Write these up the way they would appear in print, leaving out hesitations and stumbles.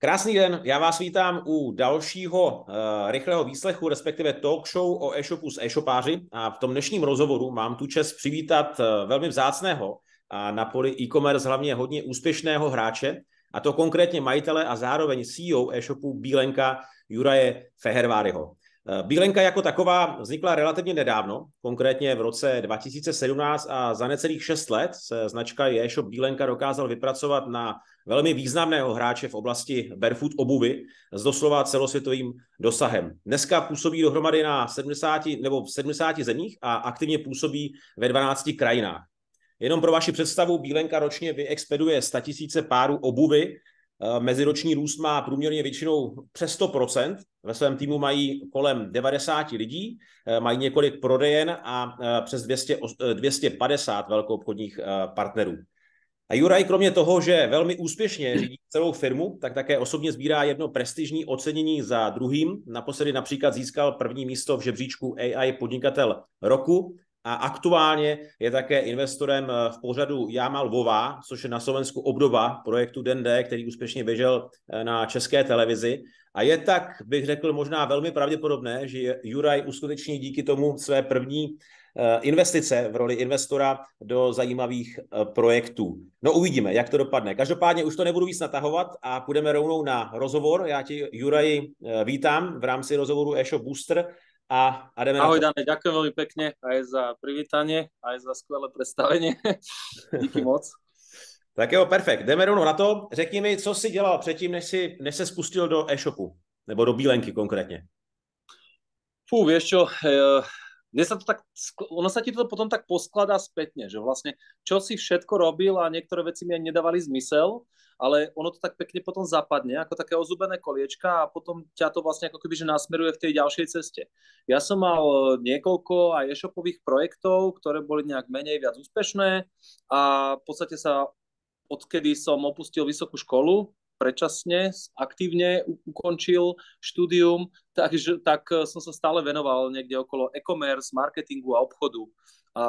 Krásný den, já vás vítám u dalšího rychlého výslechu, respektive talk show o e-shopu s e-shopáři a v tom dnešním rozhovoru mám tu čest přivítat velmi vzácného a na poli e-commerce hlavně hodně úspěšného hráče, a to konkrétně majitele a zároveň CEO e-shopu Bílenka Juraje Feherváryho. Bílenka jako taková vznikla relativně nedávno, konkrétně v roce 2017 a za necelých 6 let se značka e-shop Bílenka dokázal vypracovat na velmi významného hráče v oblasti barefoot obuvy s doslova celosvětovým dosahem. Dneska působí dohromady na 70 nebo v 70 zemích a aktivně působí ve 12 krajinách. Jenom pro vaši představu, Bílenka ročně vyexpeduje 100 000 párů obuvy, meziroční růst má průměrně většinou přes 100%, ve svém týmu mají kolem 90 lidí, mají několik prodejen a přes 250 velkoobchodních partnerů. A Juraj kromě toho, že velmi úspěšně řídí celou firmu, tak také osobně sbírá jedno prestižní ocenění za druhým. Naposledy například získal první místo v žebříčku AI podnikatel roku a aktuálně je také investorem v pořadu Já mal Vová, což je na Slovensku obdoba projektu Den D, který úspěšně běžel na České televizi. A je tak, bych řekl, možná velmi pravděpodobné, že Juraj uskuteční díky tomu své první investice v roli investora do zajímavých projektů. No uvidíme, jak to dopadne. Každopádně už to nebudu víc natahovat a půjdeme rovnou na rozhovor. Já ti, Juraji, vítám v rámci rozhovoru e-shop Booster a jdeme Ahoj, na to. Dane, ďakujem veľmi pekne aj za privítanie, aj za skvelé predstavenie. Díky moc. Tak jo, perfekt. Jdeme rovnou na to. Řekni mi, co jsi dělal předtím, než se spustil do e-shopu, nebo do Bílenky konkrétně. Vieš čo, ono sa ti to potom tak poskladá spätne, že vlastne čo si všetko robil a niektoré veci mi ani nedávali zmysel, ale ono to tak pekne potom zapadne, ako také ozubené koliečka a potom ťa to vlastne ako keby že nasmeruje v tej ďalšej ceste. Ja som mal niekoľko aj e-shopových projektov, ktoré boli nejak menej viac úspešné a v podstate sa odkedy som opustil vysokú školu, predčasne, aktívne ukončil štúdium, tak som sa stále venoval niekde okolo e-commerce, marketingu a obchodu. A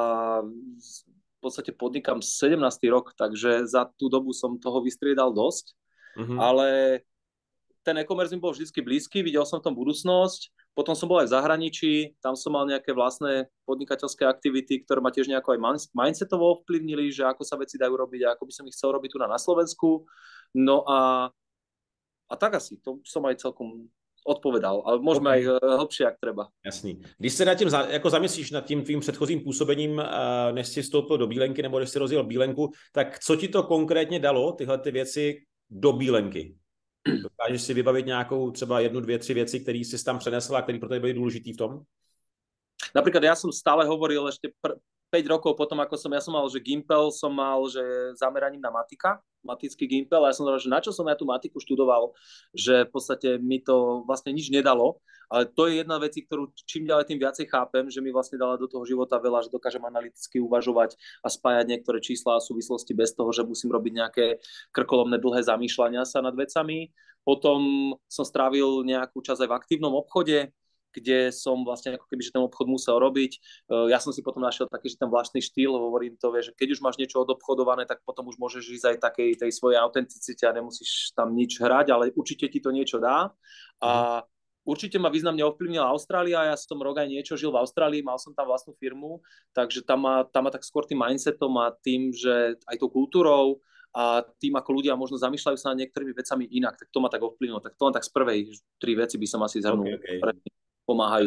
v podstate podnikám 17. rok, takže za tú dobu som toho vystriedal dosť. Ale ten e-commerce mi bol vždycky blízky, videl som v tom budúcnosť. Potom som bol aj v zahraničí, tam som mal nejaké vlastné podnikateľské aktivity, ktoré ma tiež nejako aj mindsetovo ovplyvnili, že ako sa veci dajú robiť a ako by som ich chcel robiť tu na Slovensku. No a tak asi, to som aj celkom odpovedal, ale môžeme aj hlbšie, jak treba. Jasný. Když se nad tím jako zamyslíš nad tím tvým předchozím působením, než jsi vstoupil do Bílenky nebo než jsi rozjel Bílenku, tak co ti to konkrétně dalo, tyhle ty věci do Bílenky? Dokážeš si vybavit nějakou třeba 1, 2, 3 věci, které jsi tam přenesl a které pro tebe byly důležitý v tom? Napríklad ja som stále hovoril ešte 5 rokov potom, ako ja som mal, že Gimpel som mal, že zameraním na matický Gimpel a ja som hovoril, že na čo som ja tú matiku študoval, že v podstate mi to vlastne nič nedalo, ale to je jedna vec, ktorú čím ďalej tým viacej chápem, že mi vlastne dala do toho života veľa, že dokážem analyticky uvažovať a spájať niektoré čísla a súvislosti bez toho, že musím robiť nejaké krkolomné dlhé zamýšľania sa nad vecami. Potom som strávil nejakú časť aj v aktívnom obchode, kde som vlastne ako keby, že ten obchod musel robiť. Ja som si potom našiel taký, že ten vlastný štýl, hovorím to, že keď už máš niečo odobchodované, tak potom už môžeš ísť aj takej tej svojej autenticite a nemusíš tam nič hrať, ale určite ti to niečo dá. A určite ma významne ovplyvnila Austrália, ja som rok aj niečo žil v Austrálii, mal som tam vlastnú firmu, takže tam ma tak skôr tým mindsetom a tým, že aj tou kultúrou a tým, ako ľudia možno zamýšľajú sa nad niektorými vecami inak, tak to ma tak ovplyvnilo. Tak to len tak z prvej 3 veci by som asi zhrnul. Okay. Pomáhají.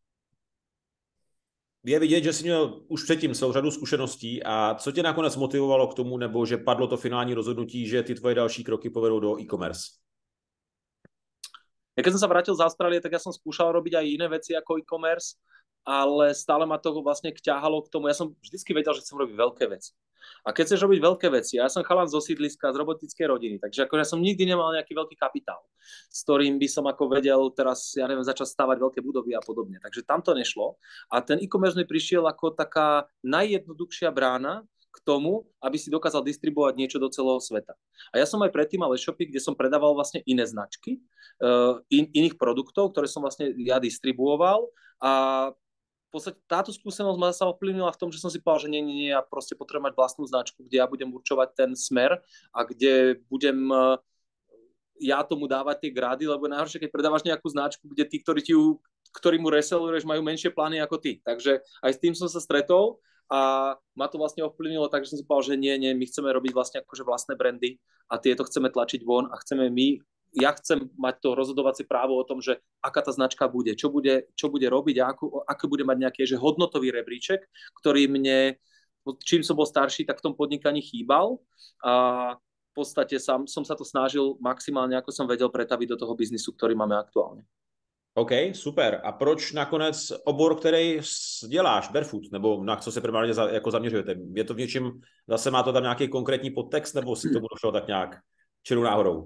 Je vidět, že jsi měl už předtím celou řadu zkušeností a co tě nakonec motivovalo k tomu, nebo že padlo to finální rozhodnutí, že ty tvoje další kroky povedou do e-commerce? Ja keď som sa vrátil z Austrálie, tak ja som skúšal robiť aj iné veci ako e-commerce, ale stále ma to vlastne ťahalo k tomu. Ja som vždycky vedel, že chcem robiť veľké veci. A keď chceš robiť veľké veci, ja som chalan zo sídliska, z robotickej rodiny, takže akože ja som nikdy nemal nejaký veľký kapitál, s ktorým by som ako vedel teraz, ja neviem, začať stavať veľké budovy a podobne. Takže tam to nešlo. A ten e-commerce mi prišiel ako taká najjednoduchšia brána k tomu, aby si dokázal distribuovať niečo do celého sveta. A ja som aj predtým mal e-shopy, kde som predával vlastne iné značky, iných produktov, ktoré som vlastne ja distribuoval a v podstate táto skúsenosť ma sa ovplyvnila v tom, že som si povedal, že nie, ja proste potrebujem mať vlastnú značku, kde ja budem určovať ten smer a kde budem ja tomu dávať tie grády, lebo najhoršie, keď predávaš nejakú značku, kde tí, ktorí mu reselluješ, majú menšie plány ako ty. Takže aj s tým som sa stretol a ma to vlastne ovplyvnilo, takže som si povedal, že nie, my chceme robiť vlastne akože vlastné brandy a tieto chceme tlačiť von a ja chcem mať to rozhodovacie právo o tom, že aká tá značka bude, čo bude robiť a ako bude mať nejaký že hodnotový rebríček, ktorý mne, čím som bol starší, tak v tom podnikaní chýbal a v podstate som sa to snažil maximálne, ako som vedel, pretaviť do toho biznisu, ktorý máme aktuálně. OK, super. A proč nakonec obor, který děláš, barefoot, nebo na co se primárně jako zaměřujete? Je to v něčem, zase má to tam nějaký konkrétní podtext, nebo si k tomu došlo tak nějak čirou náhodou?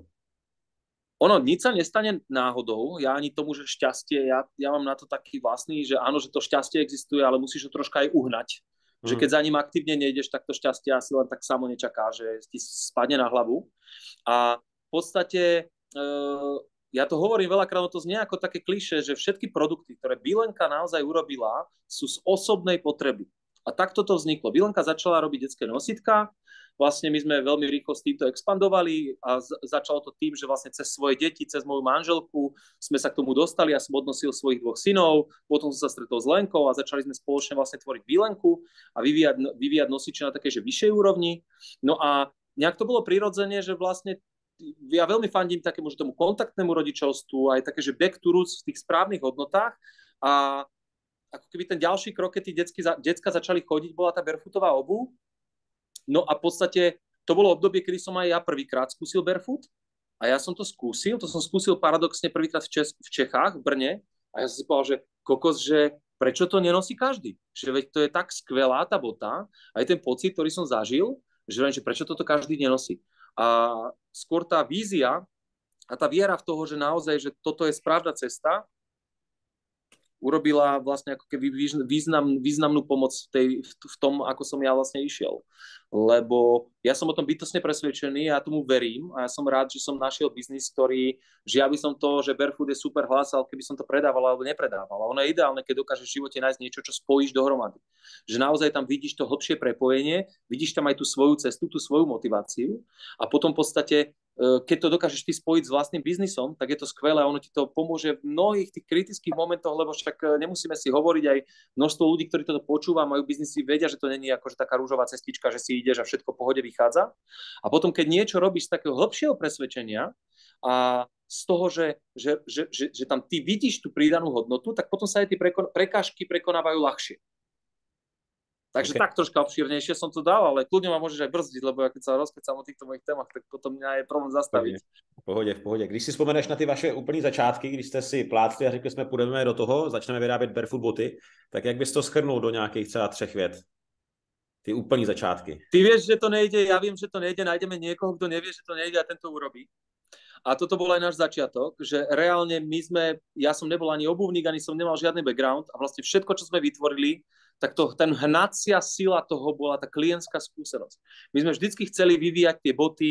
Ono, nič sa nestane náhodou, ja ani tomu, že šťastie, ja mám na to taký vlastný, že áno, že to šťastie existuje, ale musíš ho troška aj uhnať. Že keď za ním aktívne nejdeš, tak to šťastie asi len tak samo nečaká, že ti spadne na hlavu. A v podstate, ja to hovorím veľakrát, to znie ako také klišé, že všetky produkty, ktoré Bilenka naozaj urobila, sú z osobnej potreby. A takto to vzniklo. Bilenka začala robiť detské nositka, vlastne my sme veľmi rýchlo s týmto expandovali a začalo to tým, že vlastne cez svoje deti, cez moju manželku sme sa k tomu dostali, ja som odnosil svojich 2 synov, potom som sa stretol s Lenkou a začali sme spoločne vlastne tvoriť Bilenku a vyvíjať nosiče na takej, že vyššej úrovni. No a nejak to bolo prirodzene, že vlastne ja veľmi fandím takému, že tomu kontaktnému rodičovstvu, aj také, že back to roots v tých správnych hodnotách a ako keby ten ďalší krok, keď tí decka začali chodiť, bola tá barefootová obuv. No a v podstate to bolo obdobie, kedy som aj ja prvýkrát skúsil barefoot a ja som to som skúsil paradoxne prvýkrát v Čechách, v Brne a ja som si povedal, že kokos, že prečo to nenosí každý? Že veď to je tak skvelá tá bota, aj ten pocit, ktorý som zažil, že prečo toto každý nenosí. A skôr tá vízia a tá viera v toho, že naozaj, že toto je správna cesta, urobila vlastne ako keby významnú pomoc v tom, ako som ja vlastne išiel. Lebo ja som o tom bytostne presvedčený, ja tomu verím a ja som rád, že som našiel biznis, že ja by som to, že barefoot je super hlásal, keby som to predával alebo nepredával. A ono je ideálne, keď dokážeš v živote nájsť niečo, čo spojíš dohromady. Že naozaj tam vidíš to hlbšie prepojenie, vidíš tam aj tú svoju cestu, tú svoju motiváciu a potom v podstate keď to dokážeš ty spojiť s vlastným biznisom, tak je to skvelé a ono ti to pomôže v mnohých tých kritických momentoch, lebo však nemusíme si hovoriť, aj množstvo ľudí, ktorí toto počúva, majú biznisy, vedia, že to není akože taká rúžová cestička, že si ideš a všetko v pohode vychádza. A potom, keď niečo robíš z takého hlbšieho presvedčenia a z toho, že tam ty vidíš tú pridanú hodnotu, tak potom sa aj tie prekážky prekonávajú ľahšie. Takže tak troška obšírnejšie som to dal, ale kľudne ma môžeš aj brzdiť, lebo ja keď sa rozkecám o týchto mojich témach, tak potom mňa je problém zastaviť. V pohodě. Když si vzpomeneš na ty vaše úplný začátky, když jste si plácli a řekli jsme, půjdeme do toho, začneme vyrábět barefoot boty, tak jak bys to shrnul do nějakých třeba 3 vět? Ty úplný začátky. Ty vieš, že to nejde, ja viem, že to nejde, nájdeme niekoho, kto nevie, že to nejde a ten to urobí. A toto bol aj náš začiatok, že reálne ja som nebol ani obuvník, ani som nemal žiadny background a vlastne všetko, čo sme vytvorili, tak ten hnacia sila toho bola tá klientská skúsenosť. My sme vždycky chceli vyvíjať tie boty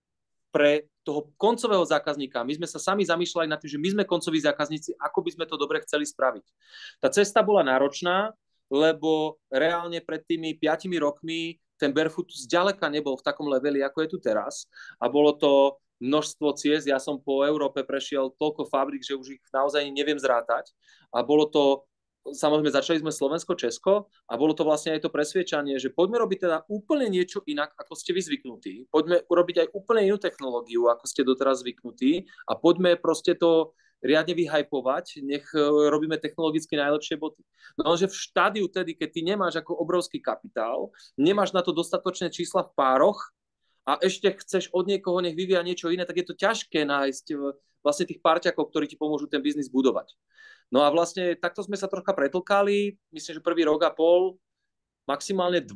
pre toho koncového zákazníka. My sme sa sami zamýšľali nad tým, že my sme koncoví zákazníci, ako by sme to dobre chceli spraviť. Tá cesta bola náročná, lebo reálne pred tými 5 rokmi ten barefoot zďaleka nebol v takom leveli, ako je tu teraz. A bolo to množstvo ciest. Ja som po Európe prešiel toľko fabrik, že už ich naozaj neviem zrátať. A bolo to samozrejme, začali sme Slovensko, Česko a bolo to vlastne aj to presviečanie, že poďme robiť teda úplne niečo inak, ako ste vy zvyknutí. Poďme urobiť aj úplne inú technológiu, ako ste doteraz zvyknutí a poďme proste to riadne vyhypovať, nech robíme technologicky najlepšie boty. No lenže v štádiu tedy, keď ty nemáš ako obrovský kapitál, nemáš na to dostatočné čísla v pároch a ešte chceš od niekoho, nech vyvíja niečo iné, tak je to ťažké nájsť vlastne tých párťakov, ktorí ti pomôžu ten biznis budovať. No a vlastne takto sme sa trocha pretlkali, myslím, že 1,5 roka, maximálne 2,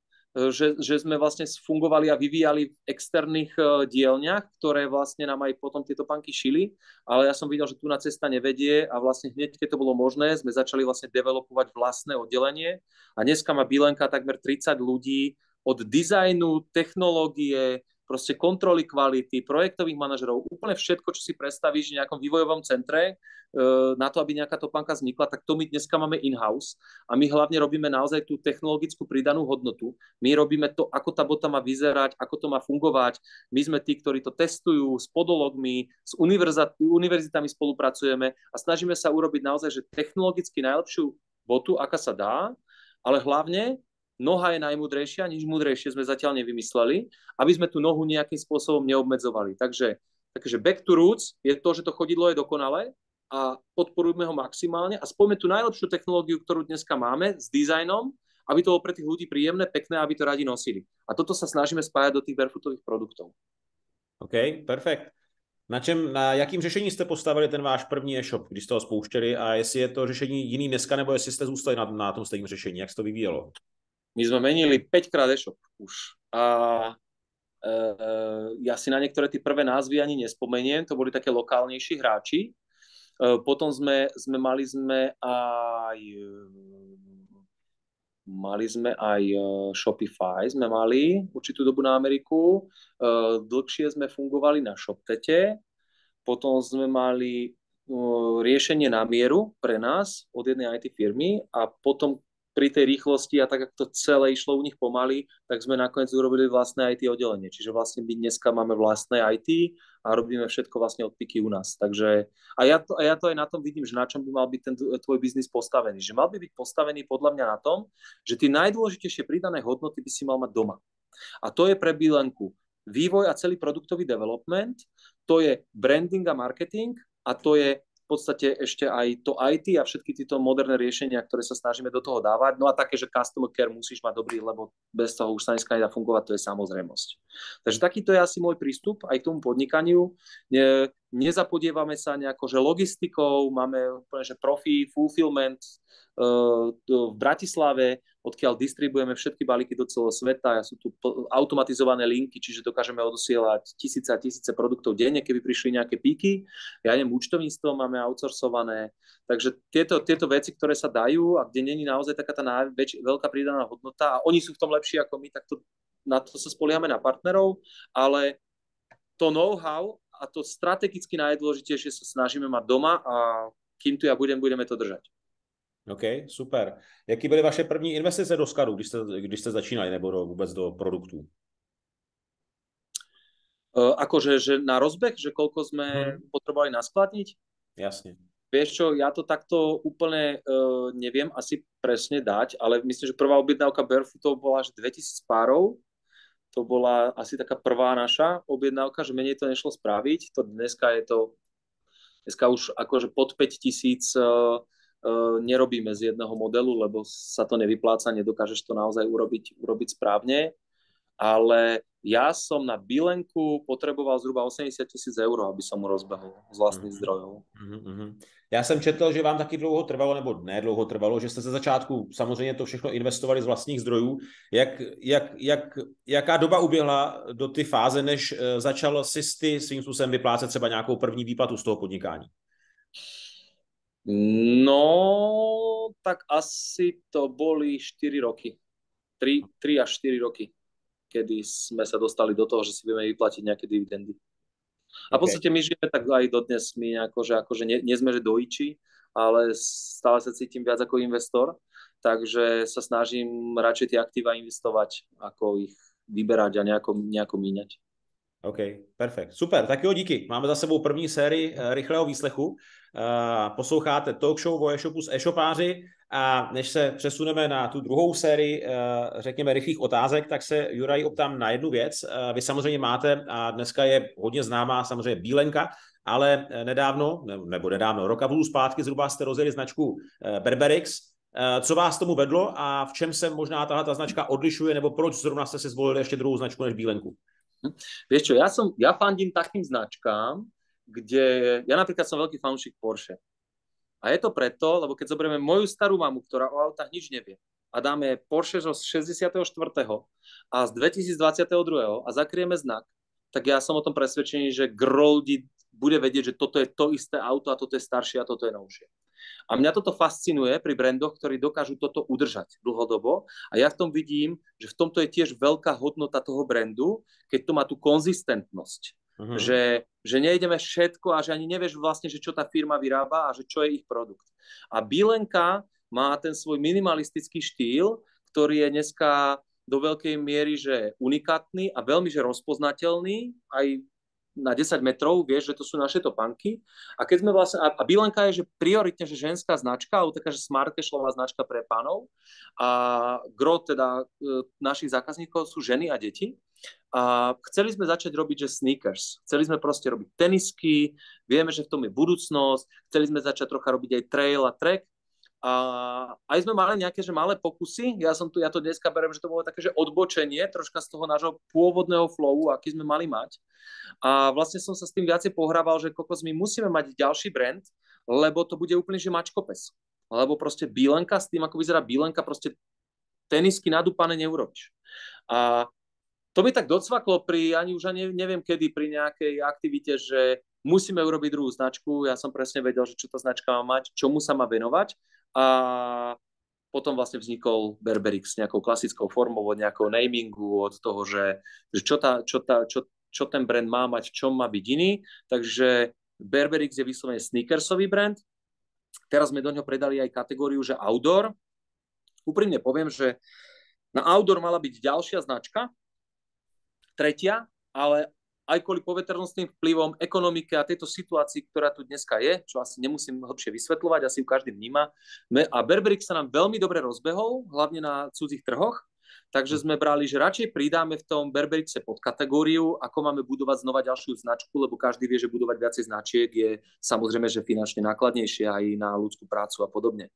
že sme vlastne fungovali a vyvíjali v externých dielňach, ktoré vlastne nám aj potom tieto panky šili, ale ja som videl, že tu na cesta nevedie a vlastne hneď, keď to bolo možné, sme začali vlastne developovať vlastné oddelenie a dneska má Bilenka takmer 30 ľudí od dizajnu, technológie, proste kontroly kvality, projektových manažerov, úplne všetko, čo si predstavíš v nejakom vývojovom centre, na to, aby nejaká topánka vznikla, tak to my dneska máme in-house a my hlavne robíme naozaj tú technologickú pridanú hodnotu. My robíme to, ako tá bota má vyzerať, ako to má fungovať. My sme tí, ktorí to testujú s podologmi, s univerzitami spolupracujeme a snažíme sa urobiť naozaj, že technologicky najlepšiu botu, aká sa dá, ale hlavne noha je najmúdrejšia, nič múdrejšie sme zatiaľ nevymysleli, aby sme tú nohu nejakým spôsobom neobmedzovali. Takže back to roots je to, že to chodidlo je dokonalé a podporujme ho maximálne a spojme tú najlepšiu technológiu, ktorú dneska máme s dizajnom, aby to bolo pre tých ľudí príjemné, pekné, aby to radi nosili. A toto sa snažíme spájať do tých barefootových produktov. OK, perfekt. Na jakým řešení jste postavili ten váš první e-shop, když jste ho spouštěli a jestli je to řešení jiný dneska, nebo jestli jste zůstali na tom stejném řešení, jak se to vyvíjelo? My sme menili 5-krát e-shop už. A ja si na niektoré tie prvé názvy ani nespomeniem, to boli také lokálnejší hráči. Potom mali sme aj Shopify, sme mali určitú dobu na Ameriku. Dlhšie sme fungovali na ShopTete. Potom sme mali riešenie na mieru pre nás od jednej IT firmy a potom pri tej rýchlosti a tak, ako to celé išlo u nich pomaly, tak sme nakoniec urobili vlastné IT oddelenie. Čiže vlastne my dneska máme vlastné IT a robíme všetko vlastne od piky u nás. Takže, a ja to aj na tom vidím, že na čom by mal byť ten tvoj biznis postavený. Že mal by byť postavený podľa mňa na tom, že tie najdôležitejšie pridané hodnoty by si mal mať doma. A to je pre Bílenku vývoj a celý produktový development, to je branding a marketing a to je v podstate ešte aj to IT a všetky tieto moderné riešenia, ktoré sa snažíme do toho dávať. No a také, že customer care musíš mať dobrý, lebo bez toho už sa dneska nedá fungovať, to je samozrejmosť. Takže takýto je asi môj prístup aj k tomu podnikaniu. Nezapodievame sa nejako, že logistikou, máme úplne, že profi, fulfillment v Bratislave, odkiaľ distribuujeme všetky balíky do celého sveta. Sú tu automatizované linky, čiže dokážeme odosielať tisíce a tisíce produktov denne, keby prišli nejaké píky. Ja neviem, účtovníctvo máme outsourcované. Takže tieto veci, ktoré sa dajú a kde není naozaj taká tá veľká pridaná hodnota a oni sú v tom lepší ako my, tak na to sa spoliehame na partnerov, ale to know-how a to strategicky najdôležitejšie sa snažíme mať doma a kým tu ja budeme to držať. OK, super. Jaký byly vaše první investice do skladu, když jste začínali, nebo vůbec do produktů? Akože že na rozbeh, že koľko sme potrebovali naskladniť? Jasne. Vieš čo, ja to takto úplne neviem asi presne dať, ale myslím, že prvá objednávka Barefootov bola až 2000 párov. To bola asi taká prvá naša objednávka, že menej to nešlo spraviť. Dneska už akože pod 5000 nerobíme z jedného modelu, lebo sa to nevypláca, nedokážeš to naozaj urobiť správne. Ale ja som na Bílenku potreboval zhruba 80 000 eur, aby som mu rozbehol z vlastných zdrojov. Já jsem četl, že vám taky dlouho trvalo, nebo ne dlouho trvalo, že jste ze začátku samozřejmě to všechno investovali z vlastních zdrojů. Jaká doba uběhla do ty fáze, než začal si svým způsobem vyplácet třeba nějakou první výplatu z toho podnikání? No, tak asi to boli 4 roky. 3 až 4 roky, kedy sme sa dostali do toho, že si vieme vyplatiť nejaké dividendy. A v podstate my žijeme tak aj dodnes, my akože nie sme, že dojiči, ale stále sa cítim viac ako investor, takže sa snažím radšej tie aktíva investovať, ako ich vyberať a nejako míňať. OK, perfekt. Super, tak jo, díky. Máme za sebou první sérii rychlého výslechu. Posloucháte talk show o e-shopu s e-shopáři a než se přesuneme na tu druhou sérii, řekněme, rychlých otázek, tak se Juraj optám na jednu věc. Vy samozřejmě máte, a dneska je hodně známá samozřejmě Bílenka, ale nedávno, roka a půl zpátky zhruba jste rozjeli značku Berberix. Co vás tomu vedlo a v čem se možná tahle značka odlišuje, nebo proč zrovna jste si zvolili ještě druhou značku než Bílenku? Vieš čo, ja fandím takým značkám, kde ja napríklad som veľký fanúšik Porsche. A je to preto, lebo keď zoberieme moju starú mamu, ktorá o autách nič nevie, a dáme Porsche z 64. a z 2022. a zakrieme znak, tak ja som o tom presvedčený, že gro ľudí bude vedieť, že toto je to isté auto a toto je staršie a toto je novšie. A mňa toto fascinuje pri brandoch, ktorí dokážu toto udržať dlhodobo. A ja v tom vidím, že v tomto je tiež veľká hodnota toho brandu, keď to má tú konzistentnosť. Že nejdeme všetko a že ani nevieš vlastne, že čo tá firma vyrába a že čo je ich produkt. A Bílenka má ten svoj minimalistický štýl, ktorý je dneska do veľkej miery že unikátny a veľmi že rozpoznateľný aj na 10 metrov, vieš, že to sú naše topánky. A keď sme vlastne, a Bílenka je, že prioritne, že ženská značka, alebo taká, že smart casualová značka pre pánov. A gro teda našich zákazníkov sú ženy a deti. A chceli sme začať robiť, že sneakers. Chceli sme proste robiť tenisky, vieme, že v tom je budúcnosť, chceli sme začať trocha robiť aj trail a track. A aj sme mali nejaké že malé pokusy, ja to dneska beriem, že to bolo také, že odbočenie troška z toho nášho pôvodného flowu, aký sme mali mať. A vlastne som sa s tým viacej pohrával, že kokos, my musíme mať ďalší brand, lebo to bude úplne že mačkopes. Lebo proste Bílenka, s tým ako vyzerá Bílenka, proste tenisky nadúpané neurobíš. A to mi tak docvaklo ani neviem kedy, pri nejakej aktivite, že musíme urobiť druhú značku. Ja som presne vedel, že čo tá značka má mať, čomu sa má venovať. A potom vlastne vznikol Berberix s nejakou klasickou formou, od nejakého namingu, od toho, že čo ten brand má mať, v čom má byť iný. Takže Berberix je vyslovene sneakersový brand. Teraz sme do ňoho predali aj kategóriu, že outdoor. Úprimne poviem, že na outdoor mala byť ďalšia značka, tretia, ale aj kvôli poveternostným vplyvom, ekonomike a tejto situácii, ktorá tu dneska je, čo asi nemusím hlbšie vysvetľovať, asi ju každý vníma. A Berberix sa nám veľmi dobre rozbehol, hlavne na cudzích trhoch, takže sme brali, že radšej pridáme v tom Berberixe podkategóriu, ako máme budovať znova ďalšiu značku, lebo každý vie, že budovať viacej značiek je samozrejme, že finančne nákladnejšie aj na ľudskú prácu a podobne.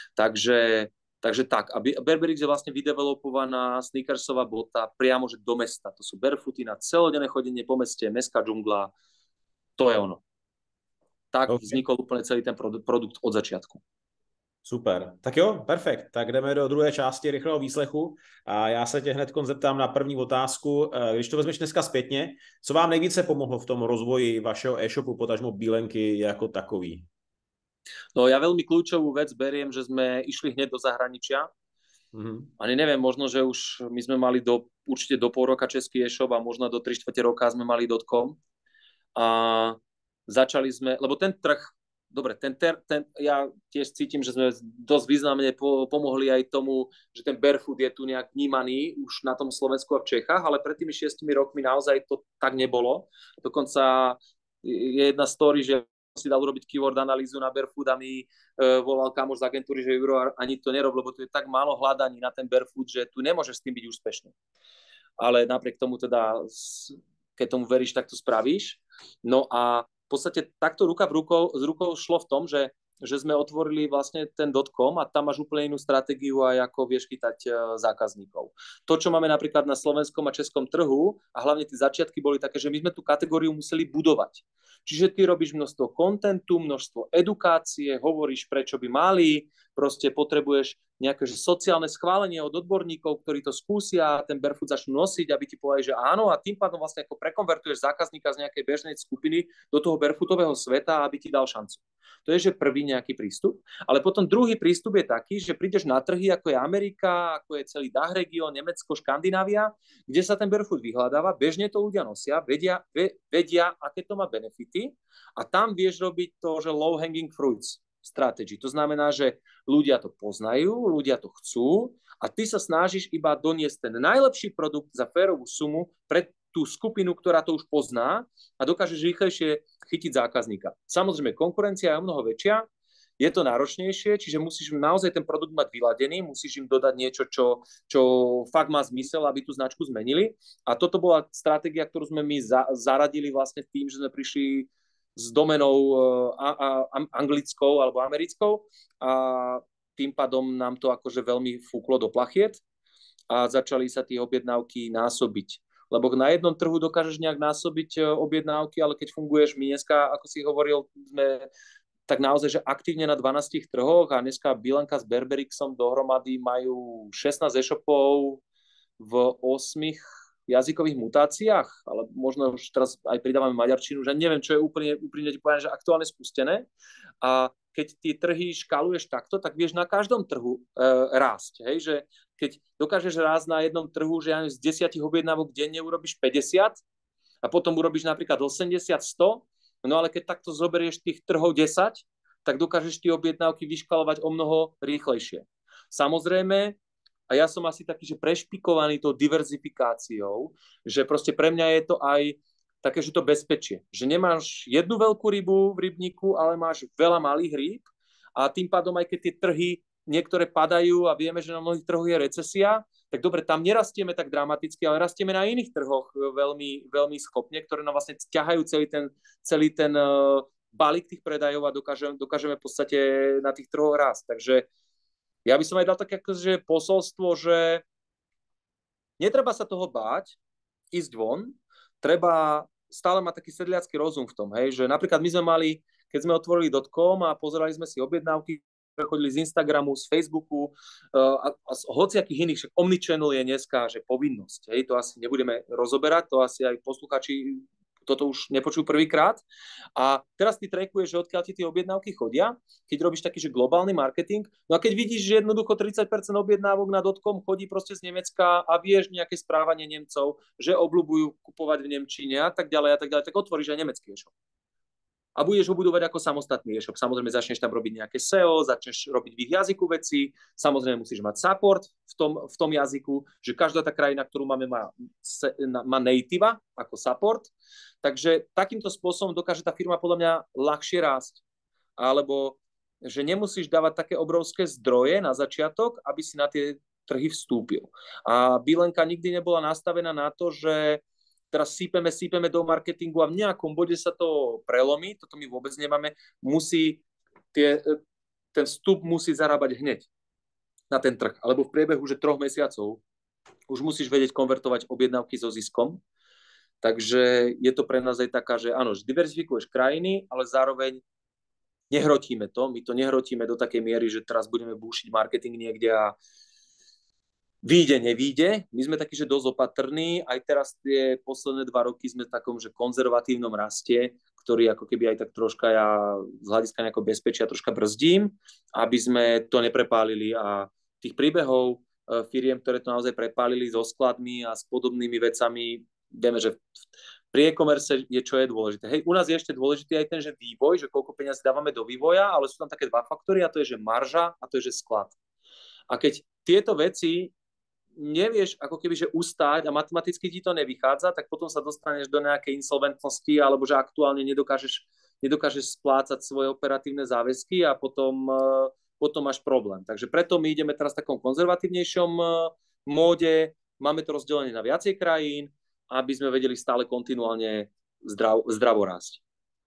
Takže tak, a Berberix je vlastne vydevelopovaná sneakersová bota priamo že do mesta. To sú barefooty na celodenné chodenie po meste, mestská džungla. To je ono. Tak vznikol úplne celý ten produkt od začiatku. Super. Tak jo, perfekt. Tak jdeme do druhé části rychlého výslechu a já se tě hned zeptám na první otázku. Když to vezmeš dneska zpětně, co vám nejvíce pomohlo v tom rozvoji vašeho e-shopu, potažmo Bílenky jako takový? No ja veľmi kľúčovú vec beriem, že sme išli hneď do zahraničia. Ani neviem, možno, že už my sme mali určite do pol roka český e-shop a možno do 3/4 roka sme mali .com. A začali sme, lebo ten trh, dobre, ja tiež cítim, že sme dosť významne pomohli aj tomu, že ten barefoot je tu nejak vnímaný už na tom Slovensku a v Čechách, ale pred tými 6 rokmi naozaj to tak nebolo. Dokonca je jedna story, že si dal urobiť keyword analýzu na barefoot a mi volal kamoš z agentúry, že Juro, ani to nerob, lebo tu je tak málo hľadaní na ten barefoot, že tu nemôžeš s tým byť úspešný. Ale napriek tomu teda, keď tomu veríš, tak to spravíš. No a v podstate takto ruka v rukou šlo v tom, že sme otvorili vlastne ten .com a tam máš úplne inú stratégiu aj ako vieš chytať zákazníkov. To, čo máme napríklad na slovenskom a českom trhu a hlavne tie začiatky boli také, že my sme tú kategóriu museli budovať. Čiže ty robíš množstvo kontentu, množstvo edukácie, hovoríš, prečo by mali, proste potrebuješ nejaké sociálne schválenie od odborníkov, ktorí to skúsia a ten barefoot začnú nosiť, aby ti povedali, že áno, a tým pádom vlastne ako prekonvertuješ zákazníka z nejakej bežnej skupiny do toho barefootového sveta, aby ti dal šancu. To je, že prvý nejaký prístup. Ale potom druhý prístup je taký, že prídeš na trhy, ako je Amerika, ako je celý DACH región, Nemecko, Škandinávia, kde sa ten barefoot vyhľadáva, bežne to ľudia nosia, vedia, aké to má benefity a tam vieš robiť to, že low hanging fruits strategy. To znamená, že ľudia to poznajú, ľudia to chcú a ty sa snažíš iba doniesť ten najlepší produkt za férovú sumu pre tú skupinu, ktorá to už pozná a dokážeš rýchlejšie chytiť zákazníka. Samozrejme, konkurencia je o mnoho väčšia, je to náročnejšie, čiže musíš naozaj ten produkt mať vyladený, musíš im dodať niečo, čo fakt má zmysel, aby tú značku zmenili. A toto bola stratégia, ktorú sme my zaradili vlastne tým, že sme prišli s domenou anglickou alebo americkou a tým pádom nám to akože veľmi fúklo do plachiet a začali sa tie objednávky násobiť. Lebo na jednom trhu dokážeš nejak násobiť objednávky, ale keď funguješ, my dneska, ako si hovoril, sme tak naozaj, že aktívne na 12 trhoch a dneska Bílenka s Berberixom dohromady majú 16 e-shopov v 8 jazykových mutáciách, ale možno už teraz aj pridávame maďarčinu, že neviem, čo je úplne ti poviem, že aktuálne spustené. A keď tie trhy škaluješ takto, tak vieš na každom trhu rásť. Hej? Že keď dokážeš rásť na jednom trhu, že z 10 objednávok denne urobíš 50 a potom urobíš napríklad 80, 100, no ale keď takto zoberieš tých trhov 10, tak dokážeš tie objednávky vyškalovať o mnoho rýchlejšie. Samozrejme, a ja som asi taký, že prešpikovaný tou diverzifikáciou, že proste pre mňa je to aj také, že to bezpečie. Že nemáš jednu veľkú rybu v rybníku, ale máš veľa malých rýb a tým pádom aj keď tie trhy niektoré padajú a vieme, že na mnohých trhoch je recesia, tak dobre, tam nerastieme tak dramaticky, ale rastieme na iných trhoch veľmi, veľmi schopne, ktoré nám vlastne ťahajú celý ten balík tých predajov a dokážeme v podstate na tých trhoch rásť. Takže ja by som aj dal také akože posolstvo, že netreba sa toho báť, ísť von, treba stále mať taký sedliacky rozum v tom, hej, že napríklad my sme mali, keď sme otvorili .com a pozerali sme si objednávky, prechodili z Instagramu, z Facebooku a z hociakých iných, však Omnichannel je dneska, že povinnosť, hej, to asi nebudeme rozoberať, to asi aj posluchači toto už nepočujú prvýkrát. A teraz ty trackuješ, že odkiaľ ti tie objednávky chodia, keď robíš taký, že globálny marketing. No a keď vidíš, že jednoducho 30% objednávok na .com chodí proste z Nemecka a vieš nejaké správanie Nemcov, že obľúbujú kupovať v Nemčine a tak ďalej, tak otvoríš aj nemecký e-shop. A budeš ho budovať ako samostatný e-shop. Samozrejme, začneš tam robiť nejaké SEO, začneš robiť v ich jazyku veci, samozrejme musíš mať support v tom jazyku, že každá tá krajina, ktorú máme, má native ako support. Takže takýmto spôsobom dokáže tá firma podľa mňa ľahšie rásť. Alebo že nemusíš dávať také obrovské zdroje na začiatok, aby si na tie trhy vstúpil. A Bilenka nikdy nebola nastavená na to, že teraz sípeme do marketingu a v nejakom bode sa to prelomí, toto my vôbec nemáme, ten vstup musí zarábať hneď na ten trh, alebo v priebehu že 3 mesiacov už musíš vedieť konvertovať objednávky so ziskom, takže je to pre nás aj taká, že áno, že diverzifikuješ krajiny, ale zároveň nehrotíme to, my to nehrotíme do takej miery, že teraz budeme búšiť marketing niekde a výjde, nevíde. My sme takí, že dosť opatrní. Aj teraz tie posledné 2 roky sme v takom, že konzervatívnom raste, ktorý ako keby aj tak troška ja z hľadiska nejakého bezpečia troška brzdím, aby sme to neprepálili. A tých príbehov firiem, ktoré to naozaj prepálili so skladmi a s podobnými vecami, vieme, že pri e-commerce je, čo je dôležité. Hej, u nás je ešte dôležitý aj ten, že vývoj, že koľko peniazí dávame do vývoja, ale sú tam také 2 faktory a to je, že marža a to je, že sklad. A keď tieto veci nevieš ako keby, že ustáť a matematicky ti to nevychádza, tak potom sa dostaneš do nejakej insolventnosti alebo že aktuálne nedokážeš splácať svoje operatívne záväzky a potom máš problém. Takže preto my ideme teraz v takom konzervatívnejšom móde, máme to rozdelené na viacej krajín, aby sme vedeli stále kontinuálne zdravo rásť.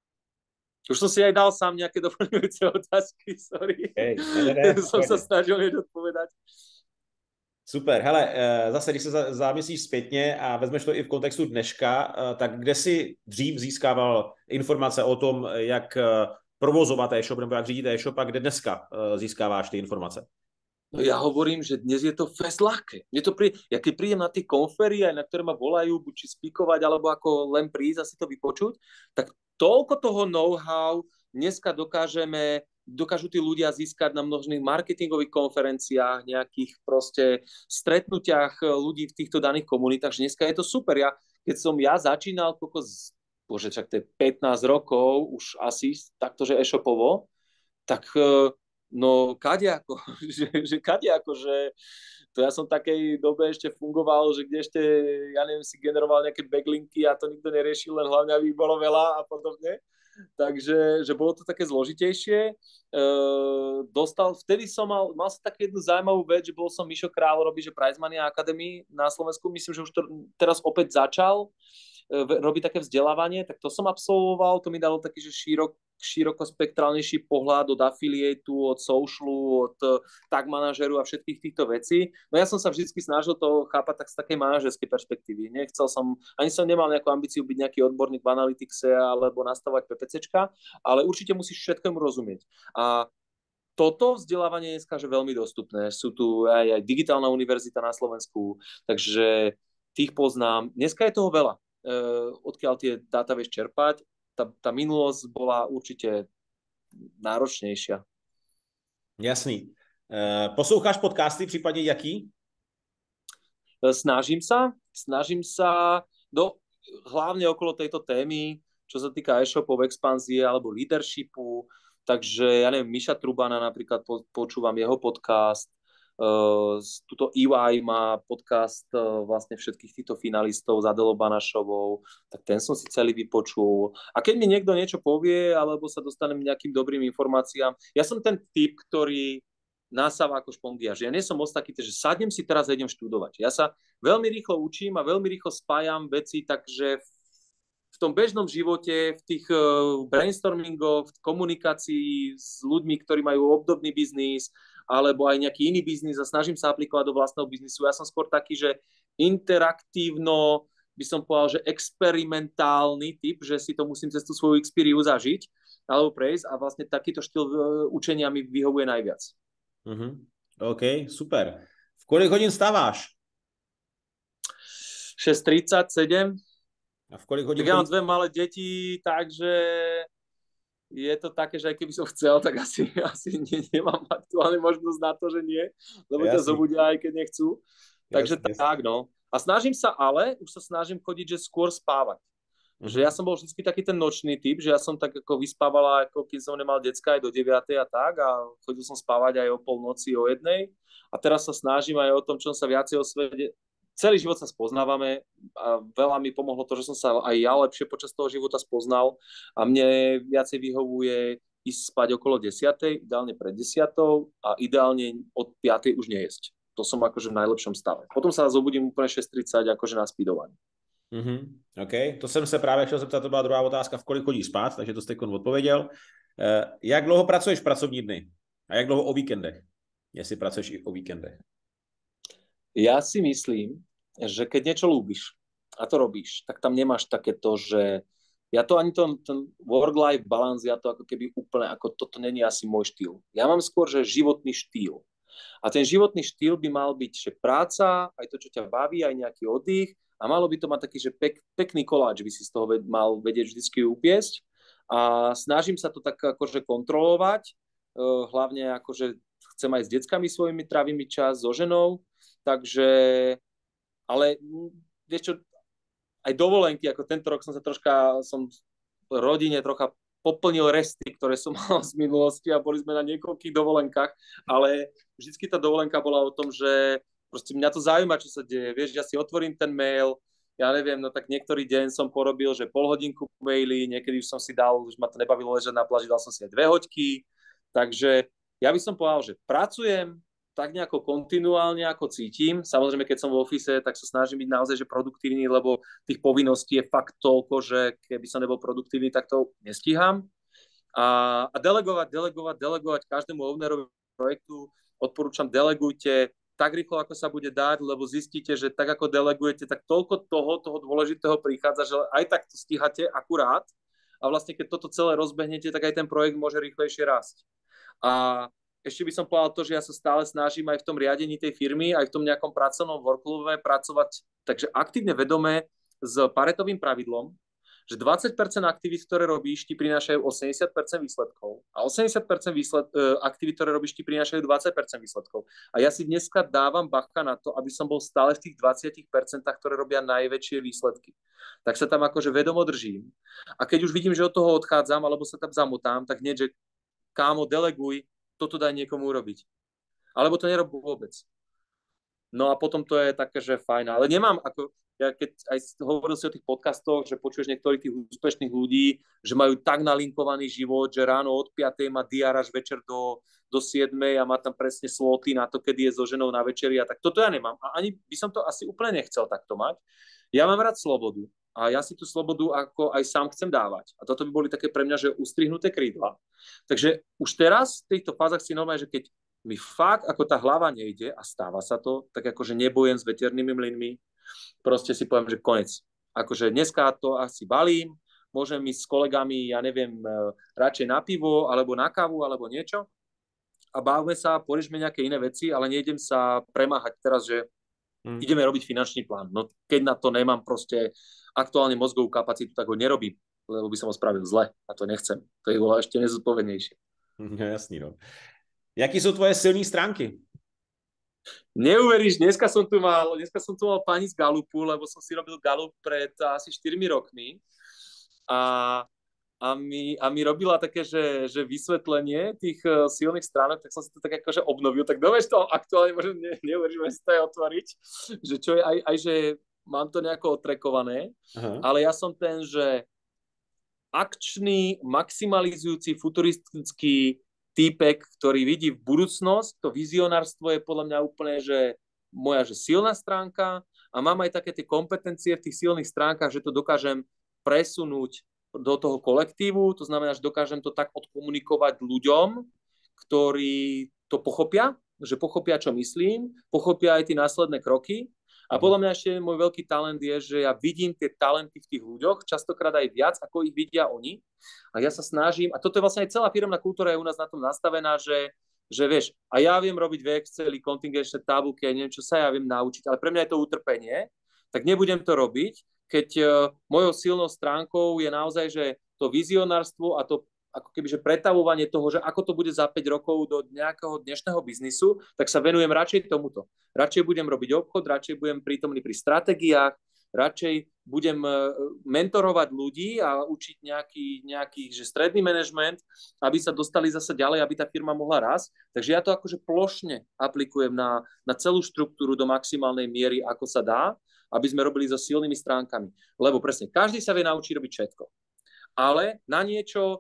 Už som si aj dal sám nejaké doplňujúce otázky, sorry. Som sa snažil odpovedať. Super, hele, zase, když se zamyslíš zpětně a vezmeš to i v kontextu dneška, tak kde jsi dřív získával informace o tom, jak provozovat e-shop nebo jak řídit e-shop a kde dneska získáváš ty informace? No ja hovorím, že dnes je to fest ľahké. Ja keď prídem na tie konfery, aj na ktoré ma volajú, buď či spíkovať, alebo ako len prísť a si to vypočuť, tak toľko toho know-how dneska dokážu tí ľudia získať na množných marketingových konferenciách, nejakých proste stretnutiach ľudí v týchto daných komunitách, že dneska je to super. Keď som začínal, čak to je 15 rokov, už asi takto, že e-shopovo, tak no kadeako, že to ja som v takej dobe ešte fungoval, že kde ešte, ja neviem, si generoval nejaké backlinky a to nikto neriešil, len hlavne aby bolo veľa a podobne. Takže že bolo to také zložitejšie. Vtedy som mal som takú jednu zaujímavú vec, že bol som Mišo Král robiť, že Prize Mania Academy na Slovensku, myslím, že už to teraz opäť začal robiť také vzdelávanie, tak to som absolvoval, to mi dalo taký, že širokospektrálnejší pohľad od affiliateu, od socialu, od tag manažeru a všetkých týchto vecí. No ja som sa vždy snažil to chápať tak z takej manažerskej perspektívy. Ani som nemal nejakú ambíciu byť nejaký odborník v analytixe alebo nastavovať PPCčka, ale určite musíš všetkému rozumieť. A toto vzdelávanie je dneska veľmi dostupné. Sú tu aj digitálna univerzita na Slovensku, takže tých poznám. Dneska je toho veľa. Odkiaľ tie dáta vieš čerpať. Tá minulosť bola určite náročnejšia. Jasný. Posloucháš podcasty, případně jaký? Snažím sa hlavne okolo tejto témy, čo sa týka e-shopov, expanzie alebo leadershipu. Takže ja neviem, Miša Trubana napríklad počúvam jeho podcast. Tuto EY má podcast vlastne všetkých týchto finalistov s Adelou Banašovou, tak ten som si celý vypočul. A keď mi niekto niečo povie, alebo sa dostanem nejakým dobrým informáciám, ja som ten typ, ktorý nasáva ako špongiaž. Ja nie som moc taký, že sadnem si teraz a idem študovať. Ja sa veľmi rýchlo učím a veľmi rýchlo spájam veci, takže v tom bežnom živote, v tých brainstormingoch, v komunikácii s ľuďmi, ktorí majú obdobný biznis, alebo aj nejaký iný biznis a snažím sa aplikovať do vlastného biznisu. Ja som skôr taký, že interaktívno, by som povedal, že experimentálny typ, že si to musím cez tú svoju experiu zažiť alebo prejsť a vlastne takýto štýl učenia mi vyhovuje najviac. OK, super. V kolik hodin stáváš? 6:37. A v kolik hodín? Tak ja mám dve malé deti, takže je to také, že aj keby som chcel, tak asi nemám aktuálne možnosť na to, že nie, lebo ťa zobudia aj keď nechcú. Takže tak, no. A snažím sa už sa snažím chodiť, že skôr spávať. Že ja som bol vždy taký ten nočný typ, že ja som tak ako vyspávala, ako keď som nemal decka aj do 9. a tak a chodil som spávať aj o polnoci, o 1. A teraz sa snažím aj o tom, čo sa viacej osvedie. Celý život sa spoznávame a veľa mi pomohlo to, že som sa aj ja lepšie počas toho života spoznal a mne viacej vyhovuje ísť spať okolo 10, ideálne pred 10 a ideálne od 5 už nejesť. To som akože v najlepšom stave. Potom sa zobudím úplne 6:30 akože na speedovanie. OK, to jsem se právě chtěl zeptat, to byla druhá otázka, v kolik chodíš spát, takže to jste odpověděl. Jak dlouho pracuješ v pracovní dny? A jak dlouho o víkendech? Jestli pracuješ i o víkendech? Ja si myslím, že keď niečo ľúbiš a to robíš, tak tam nemáš takéto, že ja to ani ten work-life balance, ja to ako keby úplne, ako toto není asi môj štýl. Ja mám skôr, že životný štýl. A ten životný štýl by mal byť, že práca, aj to, čo ťa baví, aj nejaký oddych a malo by to mať taký, že pekný koláč by si z toho mal vedieť vždycky upiesť a snažím sa to tak akože kontrolovať, hlavne akože chcem aj s deckami svojimi tráviť čas, so ženou, takže, ale vieš čo, aj dovolenky, ako tento rok som rodine trocha poplnil resty, ktoré som mal z minulosti a boli sme na niekoľkých dovolenkách, ale vždycky tá dovolenka bola o tom, že proste mňa to zaujíma, čo sa deje. Vieš, ja si otvorím ten mail, ja neviem, no tak niektorý deň som porobil, že pol hodinku maily, niekedy už som si dal, už ma to nebavilo ležať na pláži, dal som si aj 2 hoďky, takže ja by som povedal, že pracujem tak nejako kontinuálne, ako cítim. Samozrejme, keď som v office, tak sa snažím byť naozaj že produktívny, lebo tých povinností je fakt toľko, že keby som nebol produktívny, tak to nestíham. A delegovať každému ownerovi projektu. Odporúčam, delegujte tak rýchlo, ako sa bude dať, lebo zistíte, že tak ako delegujete, tak toľko toho dôležitého prichádza, že aj tak to stíhate akurát. A vlastne, keď toto celé rozbehnete, tak aj ten projekt môže rýchlejšie rásť. A ešte by som povedal to, že ja sa stále snažím aj v tom riadení tej firmy, aj v tom nejakom pracovnom workflowe pracovať takže aktívne vedome s paretovým pravidlom, že 20% aktivít, ktoré robíš, ti prinášajú 80% výsledkov a 80% aktivít, ktoré robíš, ti prinášajú 20% výsledkov. A ja si dneska dávam bacha na to, aby som bol stále v tých 20%, ktoré robia najväčšie výsledky. Tak sa tam akože vedomo držím. A keď už vidím, že od toho odchádzam, alebo sa tam zamotám, tak hneď, že kámo, deleguj, toto daj niekomu urobiť. Alebo to nerob vôbec. No a potom to je také, že fajn. Ale nemám, ako ja keď aj hovoril si o tých podcastoch, že počuješ niektorých tých úspešných ľudí, že majú tak nalinkovaný život, že ráno od 5. má diár až večer do 7. a má tam presne sloty na to, kedy je so ženou na večeri a tak. Toto ja nemám. A ani by som to asi úplne nechcel takto mať. Ja mám rád slobodu. A ja si tú slobodu ako aj sám chcem dávať. A toto by boli také pre mňa, že ustrihnuté krídla. Takže už teraz v týchto fázach si normálne, že keď mi fakt ako tá hlava nejde a stáva sa to, tak akože nebojem s veternými mlynmi, proste si poviem, že konec. Akože dneska to asi balím, môžem ísť s kolegami, ja neviem, radšej na pivo, alebo na kávu, alebo niečo a bávme sa, poriešme nejaké iné veci, ale nejdem sa premáhať teraz, že ideme robiť finančný plán. No keď na to nemám proste aktuálne mozgovú kapacitu, tak ho nerobím, lebo by som ho spravil zle a to nechcem. To je bolo ešte nezodpovednejšie. No, jasný, no. Jaký jsou tvoje silné stránky? Neuveríš, dneska som tu mal pani z Galupu, lebo som si robil Galup pred asi 4 rokmi a, a mi robila také, že vysvetlenie tých silných stránok, tak som si to tak akože obnovil, tak dovieš to aktuálne, možno neuveríš, môžem si to aj otvoriť, že čo je aj že mám to nejako otrekované, ale ja som ten, že akčný, maximalizujúci, futuristický týpek, ktorý vidí v budúcnosť, to vizionárstvo je podľa mňa úplne, že moja že silná stránka a mám aj také tie kompetencie v tých silných stránkach, že to dokážem presunúť do toho kolektívu, to znamená, že dokážem to tak odkomunikovať ľuďom, ktorí to pochopia, že pochopia, čo myslím, pochopia aj tie následné kroky. A podľa mňa ešte môj veľký talent je, že ja vidím tie talenty v tých ľuďoch, častokrát aj viac, ako ich vidia oni. A ja sa snažím, a toto je vlastne aj celá firemná kultúra je u nás na tom nastavená, že vieš, a ja viem robiť v Exceli, kontingenčné tabulky, neviem, čo sa ja viem naučiť, ale pre mňa je to utrpenie, tak nebudem to robiť, keď mojou silnou stránkou je naozaj, že to vizionárstvo a to ako keby, že pretavovanie toho, že ako to bude za 5 rokov do nejakého dnešného biznisu, tak sa venujem radšej tomuto. Radšej budem robiť obchod, radšej budem prítomný pri stratégiách, radšej budem mentorovať ľudí a učiť nejaký že stredný manažment, aby sa dostali zase ďalej, aby tá firma mohla rásť. Takže ja to akože plošne aplikujem na celú štruktúru do maximálnej miery, ako sa dá, aby sme robili so silnými stránkami. Lebo presne, každý sa vie naučiť robiť všetko. Ale na niečo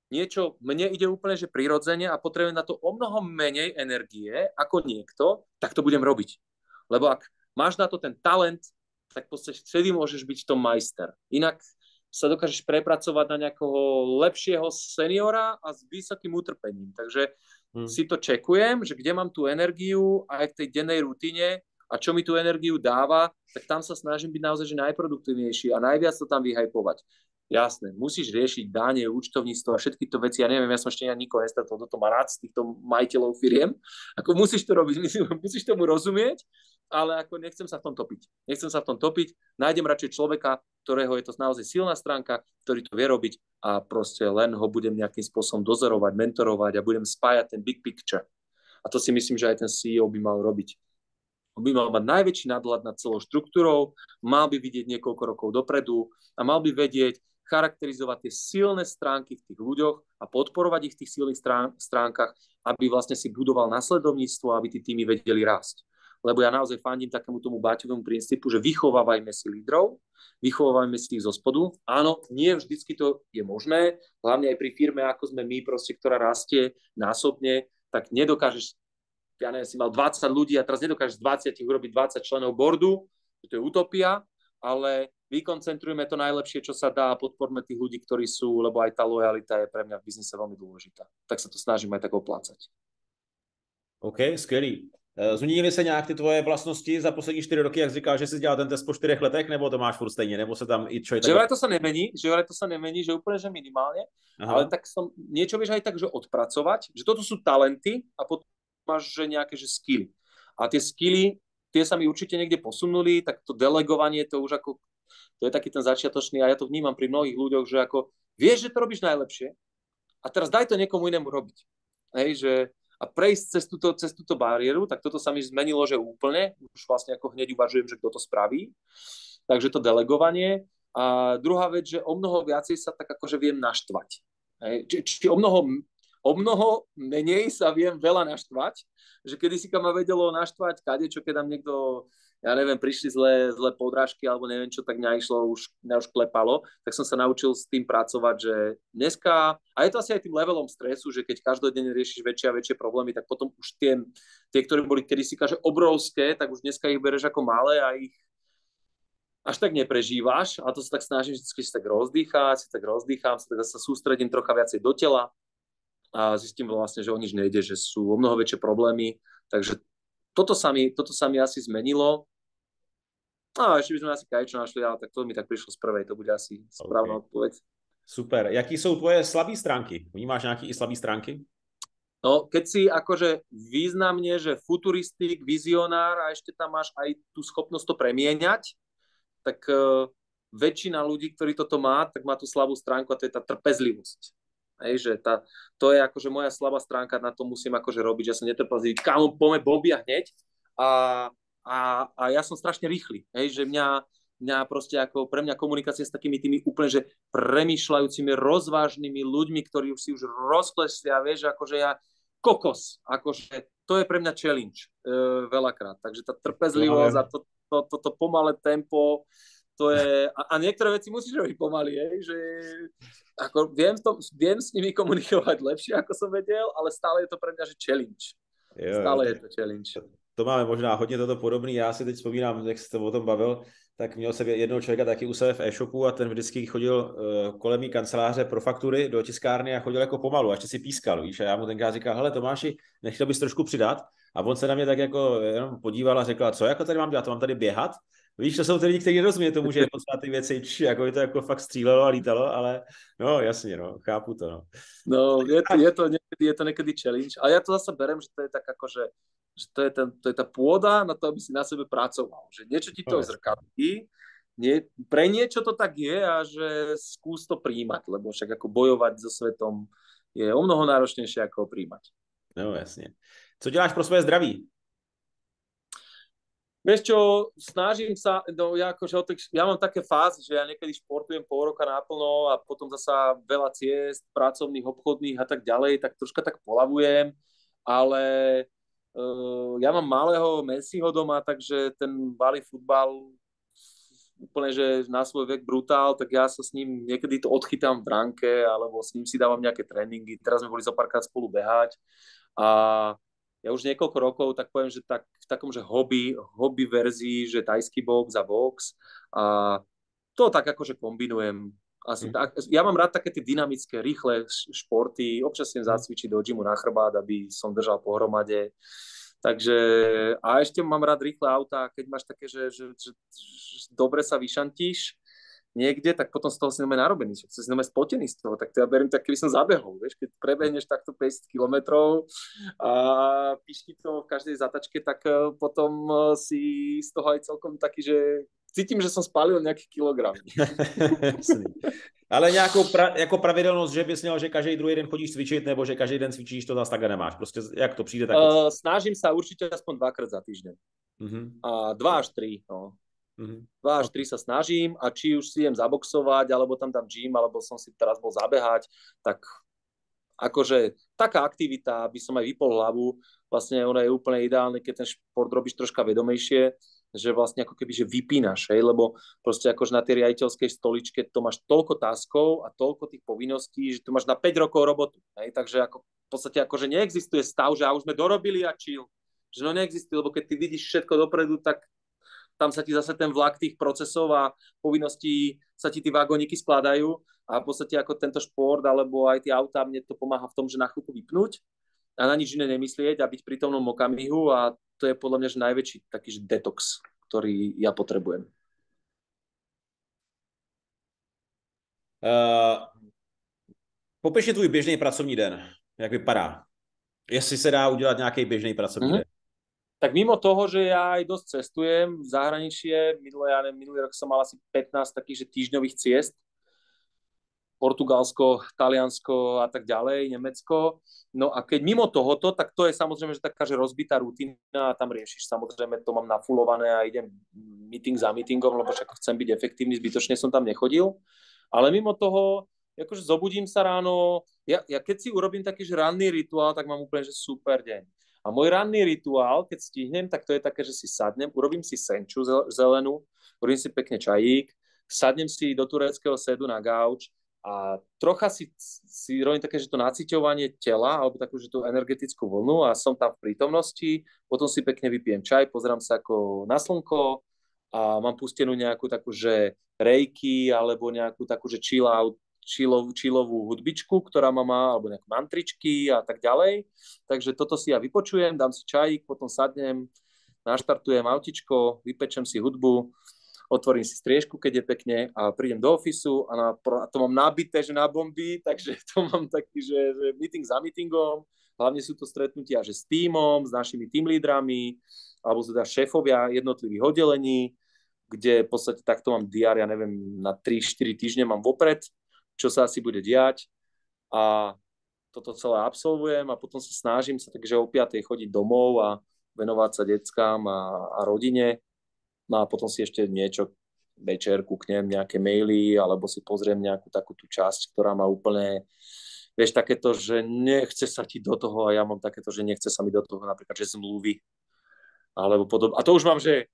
mne ide úplne, že prirodzene a potrebujem na to o mnoho menej energie ako niekto, tak to budem robiť. Lebo ak máš na to ten talent, tak v podstate vtedy môžeš byť v tom majster. Inak sa dokážeš prepracovať na nejakého lepšieho seniora a s vysokým utrpením. Takže si to čekujem, že kde mám tú energiu aj v tej dennej rutine a čo mi tú energiu dáva, tak tam sa snažím byť naozaj že najproduktívnejší a najviac to tam vyhajpovať. Jasné, musíš riešiť dáne, účtovníctvo a všetky to veci. Ja neviem, ja som ešte nikoho nestretol, kto to má rád z týchto majiteľov firiem. Ako musíš to robiť, musíš tomu rozumieť, ale ako nechcem sa v tom topiť. Nájdem radšej človeka, ktorého je to naozaj silná stránka, ktorý to vie robiť a proste len ho budem nejakým spôsobom dozorovať, mentorovať a budem spájať ten big picture. A to si myslím, že aj ten CEO by mal robiť. On by mal mať najväčší nadhľad nad celou štruktúrou, mal by vidieť niekoľko rokov dopredu a mal by vedieť, charakterizovať tie silné stránky v tých ľuďoch a podporovať ich v tých silných stránkach, aby vlastne si budoval nasledovníctvo, aby tí týmy vedeli rásť. Lebo ja naozaj fandím takému tomu Baťovému princípu, že vychovávajme si lídrov, vychovávajme si ich zo spodu. Áno, nie vždycky to je možné, hlavne aj pri firme, ako sme my, proste, ktorá rastie násobne, tak nedokážeš, ja neviem, si mal 20 ľudí a teraz nedokážeš z 20 urobiť 20 členov boardu, to je utopia, ale vykoncentrujme to najlepšie, čo sa dá a podporme tých ľudí, ktorí sú, lebo aj tá lojalita je pre mňa v biznise veľmi dôležitá. Tak sa to snažím aj tak oplácať. OK, skvělý. Změnily se nějak ty tvoje vlastnosti za poslední 4 roky, jak říkáš, že jsi dělal ten test po 4 letech, nebo to máš furt stejně, nebo se tam i člověk... Že vraj to sa nemení, že úplne, že minimálne, ale tak som niečo vieš aj tak, že odpracovať, že toto sú talenty a potom máš že nejaké že skilly. A tie skilly, tie sa mi určite niekde posunuli, tak to delegovanie, to už ako to je taký ten začiatočný a ja to vnímam pri mnohých ľuďoch, že ako vieš, že to robíš najlepšie a teraz daj to niekomu inému robiť. Hej, že a prejsť cez túto bariéru, tak toto sa mi zmenilo, že úplne, už vlastne ako hneď uvažujem, že kto to spraví. Takže to delegovanie. A druhá vec, že o mnoho viacej sa tak akože viem naštvať. Hej, či o mnoho menej sa viem veľa naštvať, že kedysi ma vedelo naštvať kadečo, keď tam niekto ja neviem, prišli zlé podrážky alebo neviem čo, tak mňa už klepalo, tak som sa naučil s tým pracovať, že dneska, a je to asi aj tým levelom stresu, že keď každodenne riešiš väčšie a väčšie problémy, tak potom už tie ktoré boli kedysi obrovské, tak už dneska ich bereš ako malé a ich až tak neprežívaš a to sa tak snažím vždy sa tak rozdýcham, sa sústredím trocha viacej do tela a zistím vlastne, že o nič nejde, že sú o mnoho väčšie problémy, takže toto sa mi asi zmenilo. A ešte by sme asi kadečo našli, ale tak to mi tak prišlo z prvej, to bude asi správna odpoveď. Super. Jaký jsou tvoje slabé stránky? Vnímáš nějaké i slabé stránky? No, keď si akože významne, že futuristik, vizionár a ešte tam máš aj tú schopnosť to premieňať, tak väčšina ľudí, ktorí toto má, tak má tú slabú stránku a to je tá trpezlivosť. Hej, že to je akože moja slabá stránka, na to musím akože robiť, že som netrpezlivý, kámo, poďme Bobby a hneď. A, a ja som strašne rýchly, hej, že mňa proste ako pre mňa komunikácia s takými tými úplne, že premýšľajúcimi, rozvážnymi ľuďmi, ktorí už si už rozkleslia, vieš, akože ja kokos, akože to je pre mňa challenge veľakrát. Takže tá trpezlivosť a to pomalé tempo, to je, a niektoré veci musíš robiť pomaly, že ako viem s nimi komunikovať lepšie, ako som vedel, ale stále je to pre mňa, že challenge. Stále je to challenge. To máme možná hodně toto podobný. Já si teď vzpomínám, jak jste o tom bavil, tak měl jsem jednoho člověka taky u sebe v e-shopu a ten vždycky chodil kolem mý kanceláře pro faktury do tiskárny a chodil jako pomalu, až si pískal, víš, a já mu tenkrát říkal, hele Tomáši, nechtěl bys trošku přidat? A on se na mě tak jako jenom podíval a řekl, co jako tady mám dělat, to mám tady běhat? Víš, to jsou ty lidi, kteří nerozumí tomu, že je potřeba ty věci, jako je to jako fakt střílelo a lítalo, ale no jasně, no, chápu to, no. No, je to niekedy challenge, ale ja to zase berem, že to je tak ako, že to je tá pôda na to, aby si na sebe pracoval, že niečo ti to zrkadlí, pre niečo to tak je a že skús to príjmať, lebo však ako bojovať so svetom je o mnoho náročnejšie ako ho príjmať. No jasně. Co děláš pro svoje zdraví? Vieš čo, snažím sa, no ja mám také fázy, že ja niekedy športujem pol roka naplno a potom zasa veľa ciest, pracovných, obchodných a tak ďalej, tak troška tak polavujem, ale ja mám malého Messiho doma, takže ten balí futbal úplne, že na svoj vek brutál, tak ja sa s ním niekedy to odchytám v bránke, alebo s ním si dávam nejaké tréningy. Teraz sme boli zo párkrát spolu behať a ja už niekoľko rokov, tak poviem, že tak v takom, že hobby verzii, že tajský box a box a to tak akože kombinujem. Ja mám rád také tie dynamické, rýchle športy, občas sem zacvičiť do gymu na chrbát, aby som držal pohromade. Takže, a ešte mám rád rýchle autá, keď máš také, že dobre sa vyšantíš niekde, tak potom z toho si narobený, že si spotený z toho, tak to ja beriem tak, keby som zabehol, vieš, keď prebehneš takto 50 kilometrov a píšti to v každej zatačke, tak potom si z toho aj celkom taký, že cítim, že som spálil nejaký kilogram. Ale nějakou jako pravidelnost, že bys měl, že každý druhý den chodíš cvičit, nebo že každý den cvičíš, to zase takhle nemáš. Prostě jak to přijde, tak snažím sa určite aspoň 2-krát za týždeň. A 2 až 3, no. 2 až 3 sa snažím a či už si idem zaboxovať, alebo tam dám gym, alebo som si teraz bol zabehať, tak akože taká aktivita, aby som aj vypol hlavu, vlastne ono je úplne ideálne, keď ten šport robíš troška vedomejšie, že vlastne ako keby, že vypínaš, hej, lebo proste akože na tej riaditeľskej stoličke to máš toľko taskov a toľko tých povinností, že tu máš na 5 rokov robotu, hej, takže ako v podstate akože neexistuje stav, že už sme dorobili a chill, že no neexistuje, lebo keď ty vidíš všetko dopredu, tak tam sa ti zase ten vlak tých procesov a povinností sa ti tí vagóniky skladajú a v podstate ako tento šport alebo aj tie autá, mne to pomáha v tom, že na chvíľku vypnúť a na nič iné nemyslieť a byť v prítomnom okamihu a to je podľa mňa že najväčší taký že detox, ktorý ja potrebujem. Popiš tvůj běžný pracovní den. Jak vypadá? Jestli se dá udělat nějaký běžný pracovní den. Tak mimo toho, že ja aj dosť cestujem v zahraničie, minulý rok som mal asi 15 takých že týždňových ciest, Portugalsko, Taliansko a tak ďalej, Nemecko. No a keď mimo tohoto, tak to je samozrejme, že taká že rozbitá rutina a tam riešiš, samozrejme to mám nafulované a idem meeting za meetingom, lebo však chcem byť efektívny, zbytočne som tam nechodil. Ale mimo toho, akože zobudím sa ráno, ja keď si urobím taký že ranný rituál, tak mám úplne že super deň. A môj ranný rituál, keď stihnem, tak to je také, že si sadnem, urobím si senču zelenú, urobím si pekne čajík, sadnem si do tureckého sedu na gauč a trocha si robím také, že to naciťovanie tela, alebo takú, že tú energetickú vlnu a som tam v prítomnosti, potom si pekne vypijem čaj, pozerám sa ako na slnko a mám pustenú nejakú takú, že reiki alebo nejakú takú, že chill out, chillovú hudbičku, ktorá má, alebo nejaké mantričky a tak ďalej. Takže toto si ja vypočujem, dám si čajík, potom sadnem, naštartujem autičko, vypečem si hudbu, otvorím si striežku, keď je pekne a prídem do ofisu a to mám nabité, že na bomby, takže to mám taký, že meeting za meetingom, hlavne sú to stretnutia, že s tímom, s našimi team lídrami, alebo teda šéfovia jednotlivých oddelení, kde v podstate takto mám diár, ja neviem, na 3-4 týždne mám vopred, čo sa asi bude diať a toto celé absolvujem a potom sa snažím sa takže o 5:00 chodiť domov a venovať sa deckám a rodine. No a potom si ešte niečo večer kúknem nejaké maily alebo si pozriem nejakú takú tú časť, ktorá má úplne, vieš, takéto, že nechce sa ti do toho a ja mám takéto, že nechce sa mi do toho napríklad, že zmluvy alebo podobne. A to už mám, že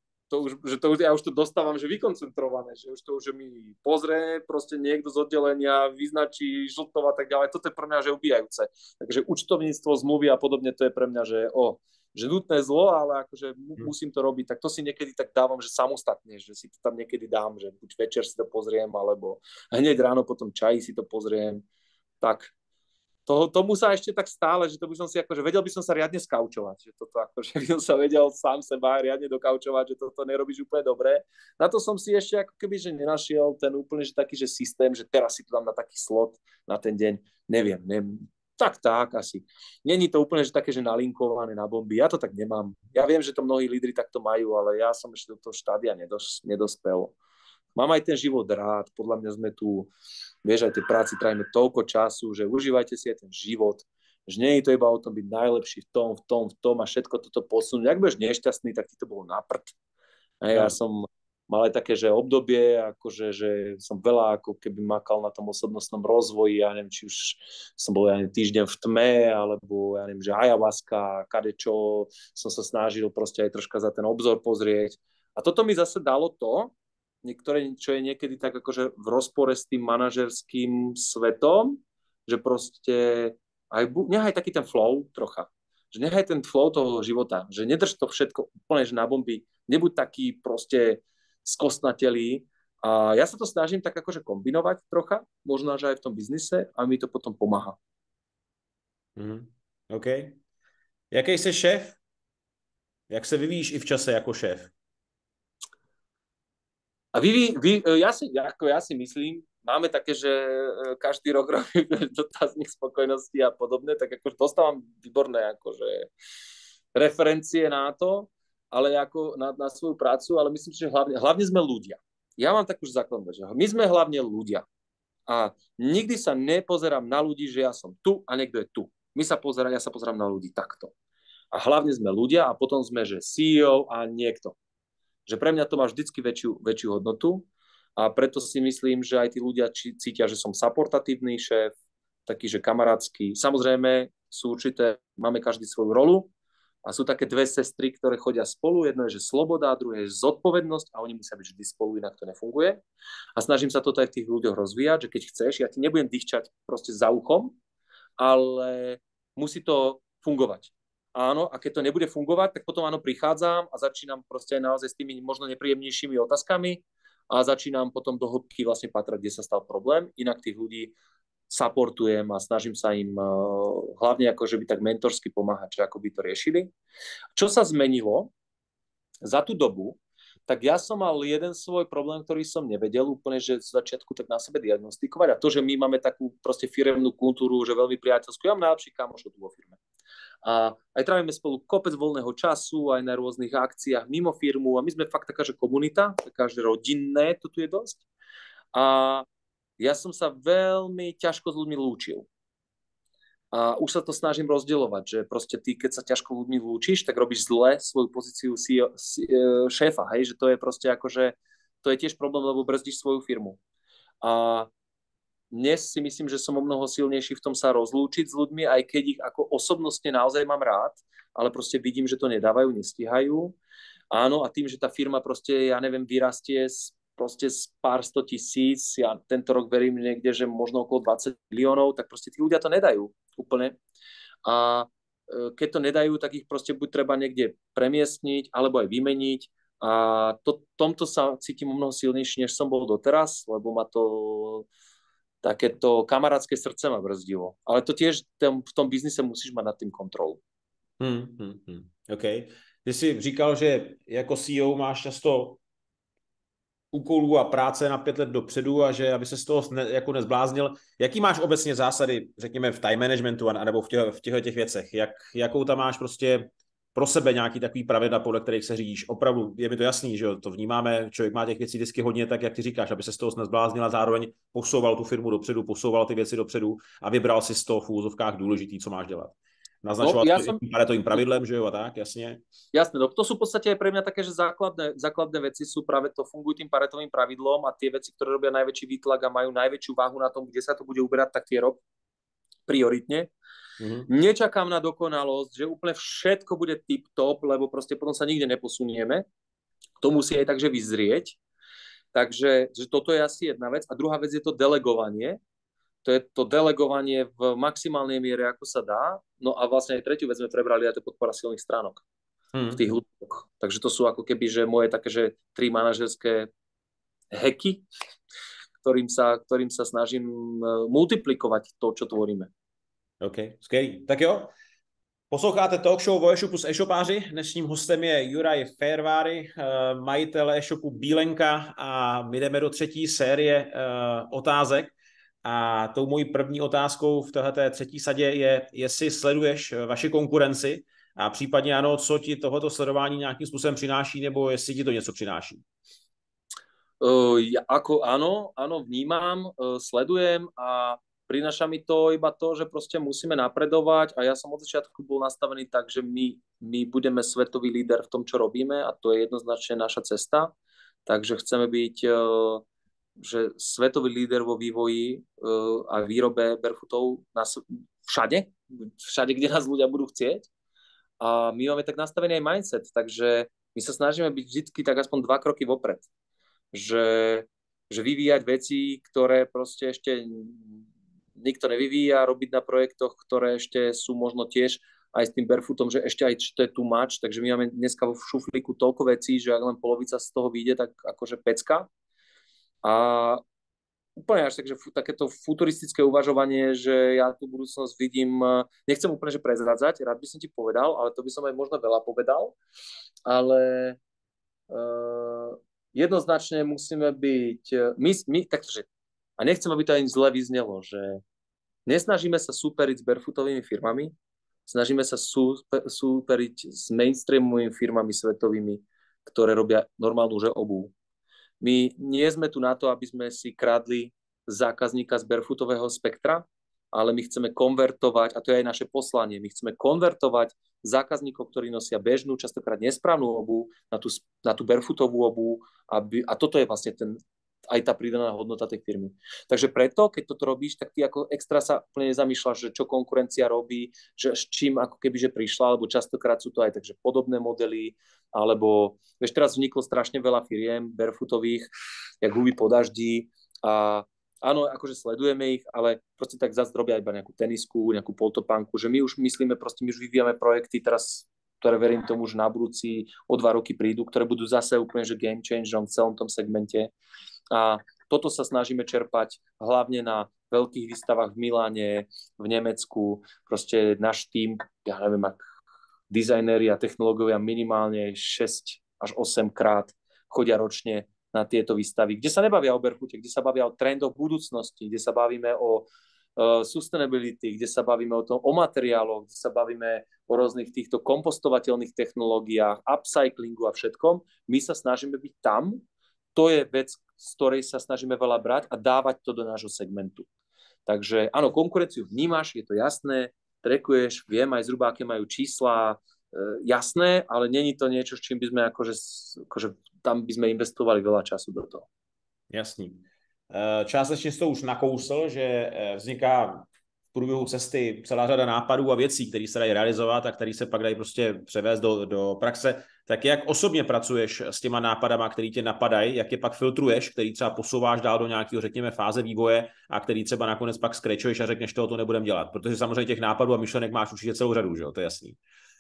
ja už to dostávam, že vykoncentrované, že už to už mi pozrie proste niekto z oddelenia, vyznačí žltov a tak ďalej. Toto je pre mňa, že ubíjajúce. Takže účtovníctvo, zmluvy a podobne, to je pre mňa, že nutné zlo, ale akože musím to robiť. Tak to si niekedy tak dávam, že samostatne, že si to tam niekedy dám, že buď večer si to pozriem, alebo hneď ráno po tom čaji si to pozriem. Tak tomu sa ešte tak stále, že to by som si akože vedel by som sa riadne skaučovať, že toto akože by som sa vedel sám seba riadne dokaučovať, že toto nerobíš úplne dobre. Na to som si ešte ako keby, že nenašiel ten úplne, že taký, že systém, že teraz si to dám na taký slot na ten deň, neviem. Tak asi. Není to úplne, že také, že nalinkované na bomby. Ja to tak nemám. Ja viem, že to mnohí lídri takto majú, ale ja som ešte do toho štádia nedospel. Mám aj ten život rád, podľa mňa sme tu, vieš, aj tej práci trajíme toľko času, že užívajte si aj ten život, že nie je to iba o tom byť najlepší v tom a všetko toto posunúť. Ak budeš nešťastný, tak ti to bolo na prd. A ja som mal aj také, že obdobie, akože, že som veľa ako keby makal na tom osobnostnom rozvoji, ja neviem, či už som bol týždeň v tme, alebo ja neviem, že ayahuasca, kadečo, som sa snažil proste aj troška za ten obzor pozrieť. A toto mi zase dalo to, niektoré, čo je niekedy tak akože v rozpore s tým manažerským svetom, že proste nechaj taký ten flow trocha, že nechaj ten flow toho života, že nedrž to všetko úplne, že na bomby, nebuď taký proste skostnatelý a ja sa to snažím tak akože kombinovať trocha, možno, že aj v tom biznise a mi to potom pomáha. OK. Jaký jsi šéf? Jak se vyvíjíš i v čase jako šéf? A ja si myslím, máme také, že každý rok robíme dotazník spokojnosti a podobne, tak akože dostávam výborné akože referencie na to, ale ako na svoju prácu, ale myslím si, že hlavne sme ľudia. Ja mám takú základnú, že my sme hlavne ľudia. A nikdy sa nepozerám na ľudí, že ja som tu a niekto je tu. Ja sa pozerám na ľudí takto. A hlavne sme ľudia a potom sme, že CEO a niekto. Že pre mňa to má vždycky väčšiu hodnotu a preto si myslím, že aj tí ľudia cítia, že som supportatívny šéf, taký, že kamarátsky. Samozrejme, máme každý svoju rolu a sú také dve sestry, ktoré chodia spolu. Jedno je, že sloboda, druhé je zodpovednosť a oni musia byť vždy spolu, inak to nefunguje. A snažím sa toto aj v tých ľuďoch rozvíjať, že keď chceš, ja ti nebudem dýchčať proste za uchom, ale musí to fungovať. Áno, a keď to nebude fungovať, tak potom áno, prichádzam a začínam proste aj naozaj s tými možno nepríjemnejšími otázkami a začínam potom do hĺbky vlastne patrať, kde sa stal problém. Inak tých ľudí supportujem a snažím sa im hlavne akože by tak mentorsky pomáhať, že ako by to riešili. Čo sa zmenilo za tú dobu, tak ja som mal jeden svoj problém, ktorý som nevedel úplne, že z začiatku tak na sebe diagnostikovať a to, že my máme takú proste firemnú kultúru, že veľmi priateľskú. Ja mám najlepší kamošov tu vo firme. A aj trávime spolu kopec voľného času, aj na rôznych akciách mimo firmu a my sme fakt taká, že komunita, taká, že rodinné, to tu je dosť. A ja som sa veľmi ťažko s ľuďmi lúčil. A už sa to snažím rozdielovať, že proste ty, keď sa ťažko ľuďmi lúčiš, tak robíš zle svoju pozíciu šéfa, hej, že to je proste akože, to je tiež problém, lebo brzdíš svoju firmu. A dnes si myslím, že som o mnoho silnejší v tom sa rozlúčiť s ľuďmi, aj keď ich ako osobnostne naozaj mám rád, ale proste vidím, že to nedávajú, nestíhajú. Áno, a tým, že tá firma proste, ja neviem, vyrastie proste z pár 100 000, ja tento rok verím niekde, že možno okolo 20 miliónov, tak proste tí ľudia to nedajú úplne. A keď to nedajú, tak ich proste buď treba niekde premiestniť, alebo aj vymeniť. A tomto sa cítim o mnoho silnejšie, než som bol doteraz, lebo ma to takéto kamarátske srdce ma brzdilo. Ale to tiež v tom biznise musíš mať nad tým kontrolu. OK. Ty jsi říkal, že jako CEO máš často úkolů a práce na 5 let dopředu a že aby se z toho jako nezbláznil. Jaký máš obecně zásady, řekněme, v time managementu anebo v těchto těch věcech? Jakou tam máš prostě pro sebe nějaký takový pravidla, podle kterých se řídíš. Opravdu je mi to jasný, že jo, to vnímáme, člověk má těch věcí vždycky hodně, tak jak ty říkáš, aby se z toho nezbláznila, zároveň posouval tu firmu dopředu, posouval ty věci dopředu a vybral si z toho v úvozovkách důležitý, co máš dělat. Naznačoval No, to i paretovým pravidlem, že jo, a tak, jasně. Jasné, no to sú v podstate aj pre mňa také, že základné veci sú práve to, fungujú tým paretovým pravidlom a tie veci, ktoré robia najväčší výtlak a majú najväčšiu váhu na tom, kde sa to bude uberať, tak tie rob prioritne. Nečakám na dokonalosť, že úplne všetko bude tip-top, lebo proste potom sa nikde neposunieme. To musí aj takže vyzrieť. Takže že toto je asi jedna vec. A druhá vec je to delegovanie. To je to delegovanie v maximálnej miere, ako sa dá. No a vlastne aj tretiu vec sme prebrali, a to je podpora silných stránok v tých ľuďoch. Takže to sú ako keby, že moje také, že 3 manažerské hacky, ktorým sa snažím multiplikovať to, čo tvoríme. OK, skvělý. Tak jo, posloucháte talk show o e-shopu s e-shopáři. Dnešním hostem je Juraj Ferváry, majitel e-shopu Bílenka a my jdeme do třetí série otázek. A tou mojí první otázkou v této třetí sadě je, jestli sleduješ vaši konkurenci a případně ano, co ti tohoto sledování nějakým způsobem přináší, nebo jestli ti to něco přináší. Áno, vnímam, sledujem a prináša mi to iba to, že proste musíme napredovať a ja som od začiatku bol nastavený tak, že my budeme svetový líder v tom, čo robíme a to je jednoznačne naša cesta. Takže chceme byť že svetový líder vo vývoji a výrobe barefootov všade, kde nás ľudia budú chcieť. A my máme tak nastavený aj mindset, takže my sa snažíme byť vždy tak aspoň 2 kroky vopred. Že vyvíjať veci, ktoré proste ešte nikto nevyvíja, robiť na projektoch, ktoré ešte sú možno tiež aj s tým barefootom, že ešte aj to je too much, takže my máme dneska vo šuflíku toľko vecí, že ak len polovica z toho vyjde, tak akože pecka. A úplne až takže takéto futuristické uvažovanie, že ja tú budúcnosť vidím, nechcem úplne že prezradzať, rád by som ti povedal, ale to by som aj možno veľa povedal, ale jednoznačne musíme byť, takže, a nechcem, aby to ani zle vyznelo, že nesnažíme sa súperiť s barefootovými firmami, snažíme sa súperiť s mainstreamovými firmami svetovými, ktoré robia normálnu obuv. My nie sme tu na to, aby sme si kradli zákazníka z barefootového spektra, ale my chceme konvertovať, a to je aj naše poslanie, my chceme konvertovať zákazníkov, ktorí nosia bežnú, častokrát nesprávnu obuv, na tú barefootovú obuv, a toto je vlastne aj tá pridaná hodnota tej firmy. Takže preto, keď toto robíš, tak ty ako extra sa úplne nezamýšľaš, že čo konkurencia robí, že s čím ako keby, že prišla, alebo častokrát sú to aj takže podobné modely, alebo vieš, teraz vzniklo strašne veľa firiem barefootových, jak huby po daždi a áno, akože sledujeme ich, ale proste tak zase robia iba nejakú tenisku, nejakú poltopánku, že my už myslíme, proste my už vyvíjame projekty teraz, ktoré verím tomu, že na budúci o 2 roky prídu, ktoré budú zase úplne že game changerom v celom tom segmente. A toto sa snažíme čerpať hlavne na veľkých výstavách v Miláne, v Nemecku. Proste náš tím, ja neviem, ak dizajnéri a technológovia minimálne 6 až 8 krát chodia ročne na tieto výstavy, kde sa nebavia o barefoote, kde sa bavia o trendoch budúcnosti, kde sa bavíme o sustainability, kde sa bavíme o materiáloch, kde sa bavíme o rôznych týchto kompostovateľných technológiách, upcyclingu a všetkom. My sa snažíme byť tam. To je vec, z ktorej sa snažíme veľa brať a dávať to do nášho segmentu. Takže áno, konkurenciu vnímaš, je to jasné, trackuješ, viem aj zhruba, aké majú čísla, jasné, ale není to niečo, s čím by sme akože tam by sme investovali veľa času do toho. Jasný. Částečně jsi to už nakousl, že vzniká v průběhu cesty celá řada nápadů a věcí, které se dají realizovat a které se pak dají prostě převést do praxe. Tak jak osobně pracuješ s těma nápadama, který tě napadají, jak je pak filtruješ, který třeba posouváš dál do nějakého, řekněme, fáze vývoje a který třeba nakonec pak skrečuješ a řekneš, to nebudem dělat. Protože samozřejmě těch nápadů a myšlenek máš určitě celou řadu, že jo? To je jasný.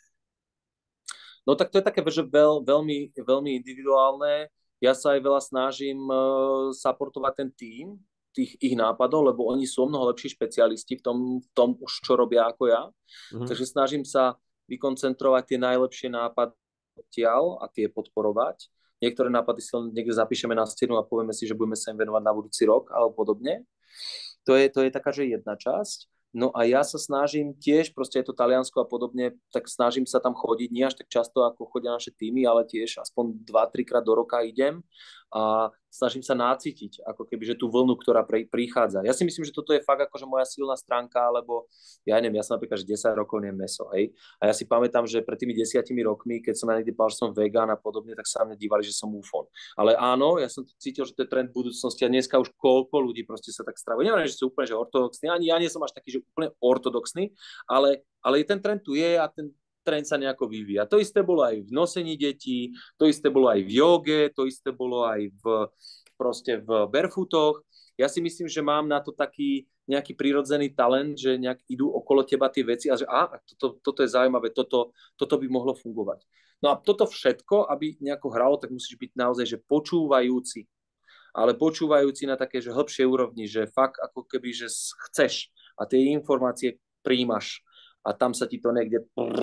No tak to je také, že veľmi, veľmi individuálne. Ja sa aj veľa snažím supportovať ten tím, tých ich nápadov, lebo oni sú o mnoho lepší špecialisti v tom už, čo robia ako ja. Takže snažím sa vykoncentrovať tie najlepšie nápady a tie podporovať. Niektoré nápady si len niekde zapíšeme na stenu a povieme si, že budeme sa im venovať na budúci rok alebo podobne. To je taká, že jedna časť. No a ja sa snažím tiež, proste je to Taliansko a podobne, tak snažím sa tam chodiť, nie až tak často, ako chodia naše týmy, ale tiež aspoň 2-3 krát do roka idem a snažím sa nácitiť, ako keby, že tú vlnu, ktorá prichádza. Ja si myslím, že toto je fakt akože moja silná stránka, lebo ja neviem, ja som napríklad, že 10 rokov nem meso, hej. A ja si pamätám, že pred tými 10 rokmi, keď som ja niekde povedal, že som vegán a podobne, tak sa mne dívali, že som ufon. Ale áno, ja som cítil, že to je trend budúcnosti a dneska už koľko ľudí proste sa tak stravuje. Neviem, že sú úplne že ortodoxní, ani ja nie som až taký, že úplne ortodoxný, ale ten trend tu je a ten trend sa nejako vyvíja. To isté bolo aj v nosení detí, to isté bolo aj v joge, to isté bolo aj proste v barefootoch. Ja si myslím, že mám na to taký nejaký prirodzený talent, že nejak idú okolo teba tie veci a že toto je zaujímavé, toto by mohlo fungovať. No a toto všetko, aby nejako hralo, tak musíš byť naozaj že počúvajúci. Ale počúvajúci na také, že hĺbšej úrovni, že fakt ako keby, že chceš a tie informácie príjmaš a tam sa ti to niekde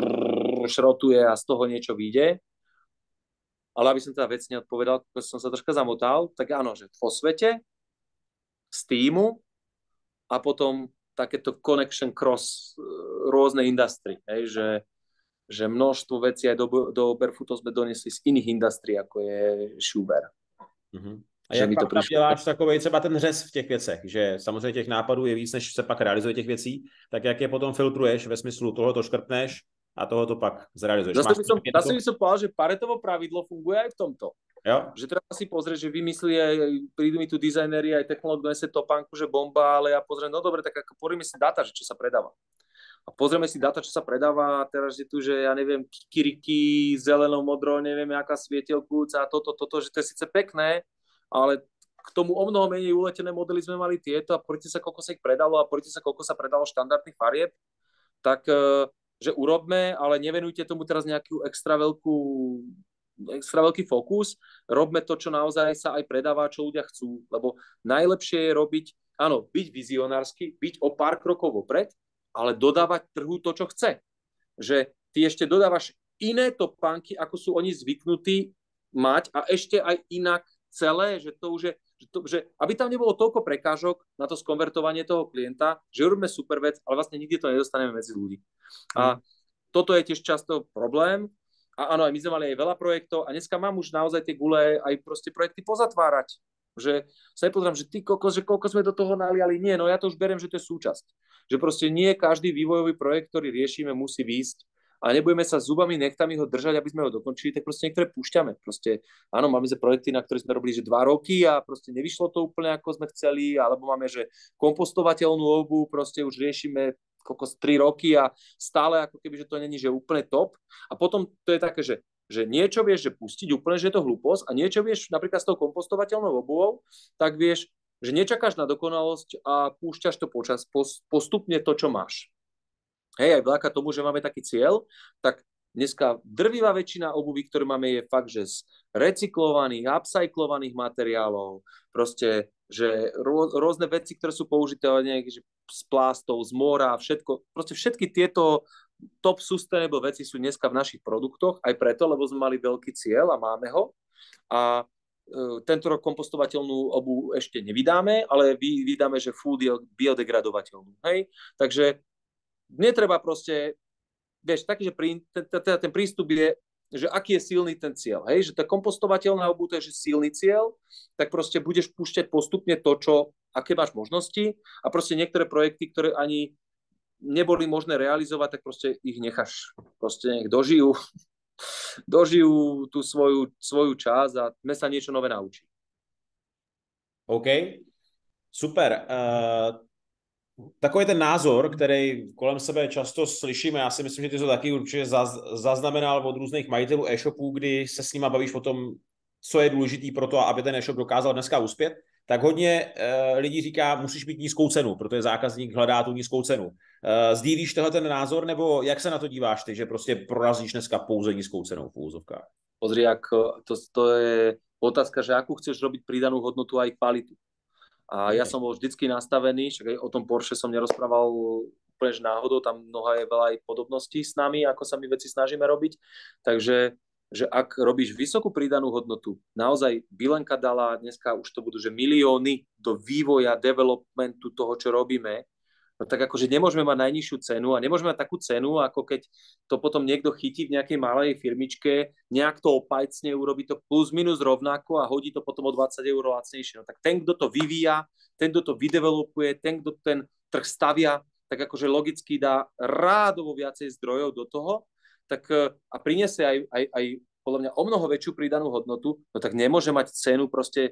šrotuje a z toho niečo vyjde. Ale aby som teda vecne odpovedal, keď som sa troška zamotal, tak áno, že vo svete, z týmu a potom takéto connection cross rôzne industry, že množstvo vecí aj do Barefootov sme donesli z iných industrí, ako je Schuber. Mm-hmm. A jak pak tam děláš takovej třeba ten řez v těch věcech, že samozřejmě těch nápadů je víc, než se pak realizuje těch věcí, tak jak je potom filtruješ ve smyslu tohle to škrtneš a tohle to pak zrealizuješ? Zase by som povedal, že Paretovo pravidlo funguje aj v tomto. Jo? Že treba si pozrieť, že vymyslí prídu mi tu dizajneri, aj technológ donese topánku, že bomba, ale ja pozriem, no dobre, tak ako pozrieme si data, že čo sa predáva. A pozrieme si data, čo sa predáva a teraz je tu, že ja neviem, kikiriki, zeleno, modro, neviem, aká svietelkúca, toto, že to je síce pekné, ale k tomu o mnoho menej uletené modely sme mali tieto a poďte sa, koľko sa ich predalo a poďte sa, koľko sa predalo štandardných farieb, tak že urobme, ale nevenujte tomu teraz nejakú extra veľký fokus, robme to, čo naozaj sa aj predáva, čo ľudia chcú, lebo najlepšie je robiť, áno, byť vizionársky, byť o pár krokov vopred, ale dodávať trhu to, čo chce. Že ty ešte dodávaš iné topánky, ako sú oni zvyknutí mať a ešte aj inak celé, že to už je, že aby tam nebolo toľko prekážok na to skonvertovanie toho klienta, že robíme super vec, ale vlastne nikdy to nedostaneme medzi ľudí. A toto je tiež často problém. A áno, aj my sme mali aj veľa projektov a dneska mám už naozaj tie gule aj proste projekty pozatvárať. Že sa nepozerám, že ty kokos, že koľko sme do toho naliali. Nie, no ja to už beriem, že to je súčasť. Že proste nie každý vývojový projekt, ktorý riešime, musí výjsť a nebudeme sa zubami, nechtami ho držať, aby sme ho dokončili, tak proste niektoré púšťame. Proste, áno, máme že projekty, na ktoré sme robili, že 2 roky a proste nevyšlo to úplne, ako sme chceli, alebo máme, že kompostovateľnú obu, proste už riešime kokos 3 roky a stále ako keby, že to není, že úplne top. A potom to je také, že niečo vieš, že pustiť úplne, že je to hlúposť a niečo vieš napríklad s tou kompostovateľnou obuvou, tak vieš, že nečakáš na dokonalosť a púšťaš to postupne to, čo máš. Hej, aj vďaka tomu, že máme taký cieľ, tak dneska drvivá väčšina obuví, ktoré máme, je fakt, že z recyklovaných, upcyklovaných materiálov, proste, že rôzne veci, ktoré sú použité že z plastov, z mora, všetko, proste všetky tieto top sustainable veci sú dneska v našich produktoch, aj preto, lebo sme mali veľký cieľ a máme ho. A tento rok kompostovateľnú obu ešte nevydáme, ale vydáme, že full biodegradovateľnú. Hej? Takže netreba proste, vieš, taký, že ten prístup je, že aký je silný ten cieľ, hej, že tá kompostovateľná obuv je, že silný cieľ, tak proste budeš púšťať postupne to, aké máš možnosti a proste niektoré projekty, ktoré ani neboli možné realizovať, tak proste ich necháš, proste nech dožijú tú svoju časť a sme sa niečo nové naučí. OK, super. Takový ten názor, který kolem sebe často slyšíme, já si myslím, že ty to taky určitě zaznamenal od různých majitelů e-shopů, kdy se s nima bavíš o tom, co je důležitý pro to, aby ten e-shop dokázal dneska uspět, tak hodně lidí říká, musíš mít nízkou cenu, protože zákazník hledá tu nízkou cenu. Sdílíš tohle ten názor, nebo jak se na to díváš ty, že prostě prorazíš dneska pouze nízkou cenou v úvozovkách? Pozri, to je otázka, že akú chceš robiť pridanú hodnotu aj kvalitu. A ja som bol vždycky nastavený, však aj o tom Porsche som nerozprával úplne náhodou, tam je veľa aj podobností s nami, ako sa my veci snažíme robiť. Takže že ak robíš vysokú pridanú hodnotu, naozaj Bilenka dala, dneska už to budú, že milióny do vývoja, developmentu toho, čo robíme, No tak akože nemôžeme mať najnižšiu cenu a nemôžeme mať takú cenu, ako keď to potom niekto chytí v nejakej malej firmičke, nejak to opajcne, urobí to plus minus rovnako a hodí to potom o 20 eur lacnejšie. No tak ten, kto to vyvíja, ten, kto to vydevelopuje, ten, kto ten trh stavia, tak akože logicky dá rádovo viacej zdrojov do toho, tak a priniesie aj podľa mňa o mnoho väčšiu pridanú hodnotu, no tak nemôže mať cenu proste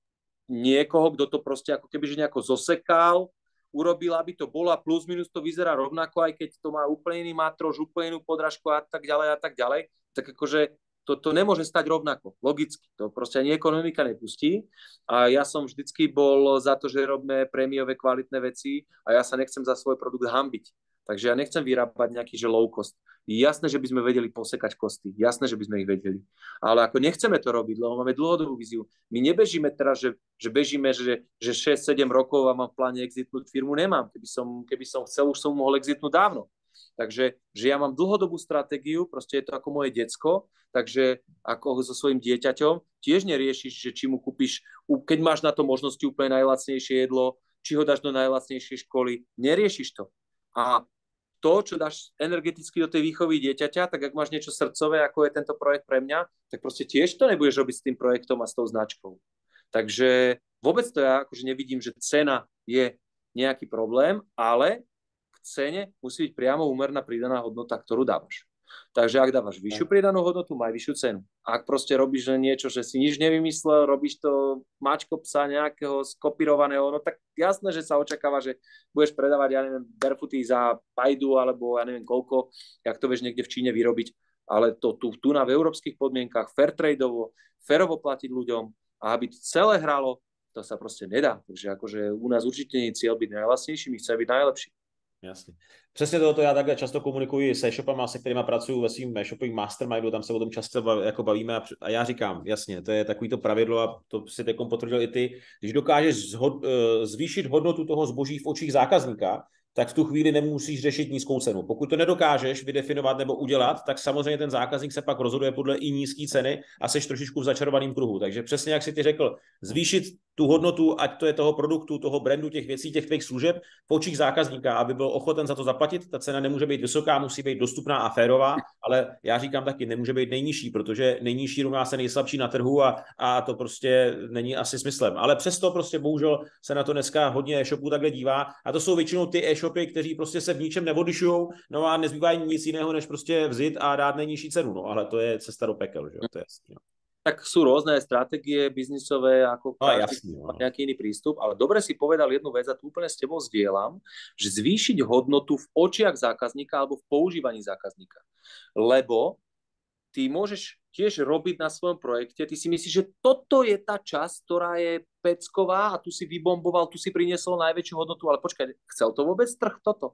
niekoho, kto to proste ako keby že nejako zosekal, urobil, aby to bolo a plus minus to vyzerá rovnako, aj keď to má úplne iný matrož, úplne inú podrážku a tak ďalej, tak akože to nemôže stať rovnako, logicky, to proste ani ekonomika nepustí a ja som vždycky bol za to, že robíme prémiové kvalitné veci a ja sa nechcem za svoj produkt hanbiť. Takže ja nechcem vyrábať nejaký že low cost. Jasné, že by sme vedeli posekať kosty. Jasné, že by sme ich vedeli. Ale ako nechceme to robiť, lebo máme dlhodobú víziu. My nebežíme teraz, že bežíme, že 6-7 rokov a mám v pláne exitnúť firmu. Nemám. Keby som chcel, už som mohol exitnúť dávno. Takže že ja mám dlhodobú stratégiu, proste je to ako moje decko, takže ako so svojím dieťaťom, tiež neriešiš, že či mu kúpiš, keď máš na to možnosti úplne najlacnejšie jedlo, či ho dáš do najlacnejšej školy, neriešiš to. A to, čo dáš energeticky do tej výchovy dieťaťa, tak ak máš niečo srdcové, ako je tento projekt pre mňa, tak proste tiež to nebudeš robiť s tým projektom a s tou značkou. Takže vôbec to ja akože nevidím, že cena je nejaký problém, ale k cene musí byť priamo úmerná pridaná hodnota, ktorú dávaš. Takže ak dávaš vyššiu pridanú hodnotu, maj vyššiu cenu. Ak proste robíš niečo, že si nič nevymyslel, robíš to mačko psa nejakého skopírovaného, no tak jasné, že sa očakáva, že budeš predávať, ja neviem, barefooty za pajdu, alebo ja neviem koľko, jak to vieš niekde v Číne vyrobiť, ale to tu na v európskych podmienkach, fair tradeovo, férovo platiť ľuďom a aby to celé hralo, to sa proste nedá. Takže akože u nás určite nie je cieľ byť najlacnejší, my chceme byť najlepší. Jasně. Přesně tohoto já takhle často komunikuji s e-shopama, se kterými pracuju ve svým e-shopovým mastermindu, tam se o tom často jako bavíme a já říkám, jasně, to je takový to pravidlo a to si teď potvrdil i ty, když dokážeš zvýšit hodnotu toho zboží v očích zákazníka, tak v tu chvíli nemusíš řešit nízkou cenu. Pokud to nedokážeš vydefinovat nebo udělat, tak samozřejmě ten zákazník se pak rozhoduje podle i nízké ceny a seš trošičku v začarovaném kruhu. Takže přesně jak si ty řekl, zvýšit tu hodnotu, ať to je toho produktu, toho brandu, těch věcí, těch tvých služeb v očích zákazníka, aby byl ochoten za to zaplatit. Ta cena nemůže být vysoká, musí být dostupná a férová, ale já říkám taky, nemůže být nejnižší, protože nejnižší rovná se nejslabší na trhu a to prostě není asi smyslem. Ale přesto prostě bohužel se na to dneska hodně e-shopů takhle dívá a to jsou většinou ty e-shopy, kteří prostě se v ničem neodlišují, no a nezbývá jim nic jiného, než prostě vzít a dát nejnižší cenu. No ale to je cesta do pekel, že jo, to je jasný. No. Tak sú rôzne stratégie biznisové, ako nejaký iný prístup, ale dobre si povedal jednu vec a tu úplne s tebou zdieľam, že zvýšiť hodnotu v očiach zákazníka alebo v používaní zákazníka. Lebo ty môžeš tiež robiť na svojom projekte, ty si myslíš, že toto je tá časť, ktorá je pecková a tu si vybomboval, tu si priniesol najväčšiu hodnotu, ale počkaj, chcel to vôbec trh toto?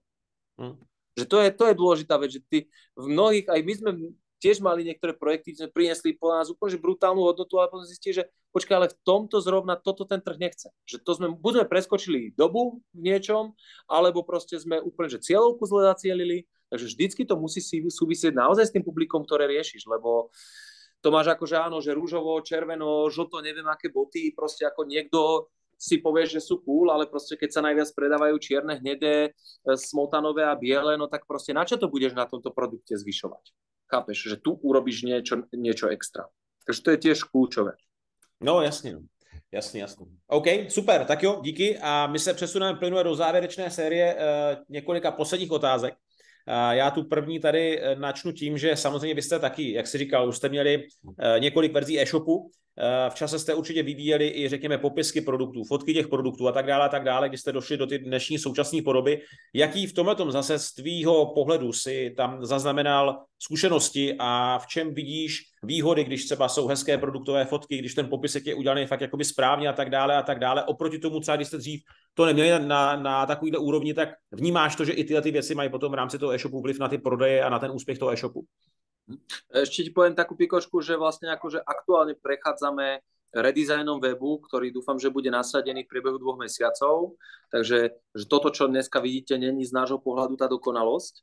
Že to je dôležitá vec, že ty v mnohých, aj my sme tiež mali niektoré projekty, sme priniesli po nás úplne brutálnu hodnotu, ale potom zistili, že počkaj, ale v tomto zrovna toto ten trh nechce. Že to sme, buď sme preskočili dobu v niečom, alebo proste sme úplne, že cieľovku zle zacielili, takže vždycky to musí súvisieť naozaj s tým publikom, ktoré riešiš, lebo to máš akože áno, že rúžovo, červeno, žlto, neviem aké boty, proste ako niekto si povie, že sú cool, ale proste keď sa najviac predávajú čierne, hnedé, smotanové a biele, no tak proste na čo to budeš na tomto produkte zvyšovať? Chápeš, že tu urobíš niečo extra. Takže to je tiež kľúčové. No jasně, no. Jasně. OK, super, tak jo, díky a my se přesuneme plynule do závěrečné série několika posledních otázek. Já tu první tady načnu tím, že samozřejmě vy jste taky, jak jsi říkal, už jste měli několik verzí e-shopu. V čase jste určitě vyvíjeli i, řekněme, popisky produktů, fotky těch produktů a tak dále, když jste došli do ty dnešní současné podoby. Jaký v tomhletom zase z tvýho pohledu si tam zaznamenal zkušenosti a v čem vidíš výhody, když třeba jsou hezké produktové fotky, když ten popisek je udělaný fakt jakoby správně a tak dále. Oproti tomu třeba, když jste dřív to neměli na takovýhle úrovni, tak vnímáš to, že i tyhle ty věci mají potom v rámci toho e-shopu vliv na ty prodeje a na ten úspěch toho e-shopu? Ešte ti poviem takú pikošku, že vlastne akože aktuálne prechádzame redesignom webu, ktorý dúfam, že bude nasadený v priebehu 2 mesiacov. Takže že toto, čo dneska vidíte, není z nášho pohľadu tá dokonalosť.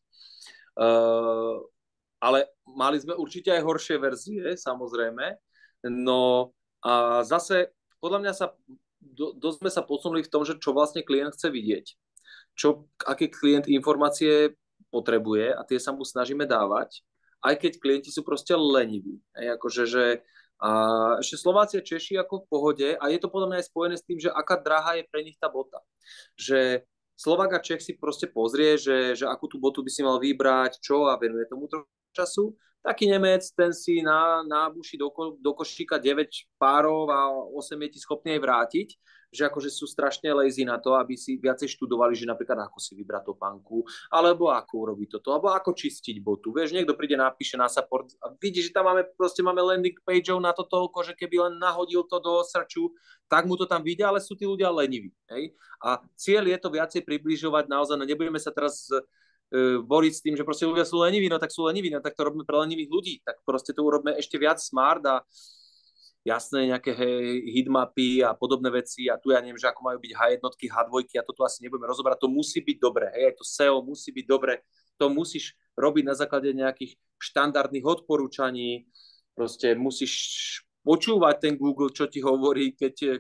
Ale mali sme určite aj horšie verzie, samozrejme. No a zase, podľa mňa dosť sme sa posunuli v tom, že čo vlastne klient chce vidieť. aké klient informácie potrebuje a tie sa mu snažíme dávať, aj keď klienti sú proste leniví. Akože, a ešte Slováci a Češi ako v pohode a je to podľa mňa aj spojené s tým, že aká drahá je pre nich tá bota. Že Slovák a Čech si proste pozrie, že akú tú botu by si mal vybrať, čo a venuje tomu času. Taký Nemec, ten si nábuší do košíka 9 párov a 8 je ti schopný aj vrátiť, že akože sú strašne lazy na to, aby si viacej študovali, že napríklad ako si vybrať topánku, alebo ako urobiť toto, alebo ako čistiť botu. Vieš, niekto príde, napíše na support a vidí, že tam máme landing pageov na to toľko, že keby len nahodil to do searchu, tak mu to tam vidia, ale sú tí ľudia leniví. Hej? A cieľ je to viacej približovať naozaj, no nebudeme sa teraz boriť s tým, že proste ľudia sú leniví, no tak sú leniví, no tak to robíme pre lenivých ľudí, tak proste to urobíme ešte viac smart a jasné nejaké hitmapy a podobné veci a tu ja neviem, že ako majú byť H1, H2 a toto asi nebudeme rozoberať, to musí byť dobre, hej, to SEO musí byť dobre, to musíš robiť na základe nejakých štandardných odporúčaní, proste musíš počúvať ten Google, čo ti hovorí, keď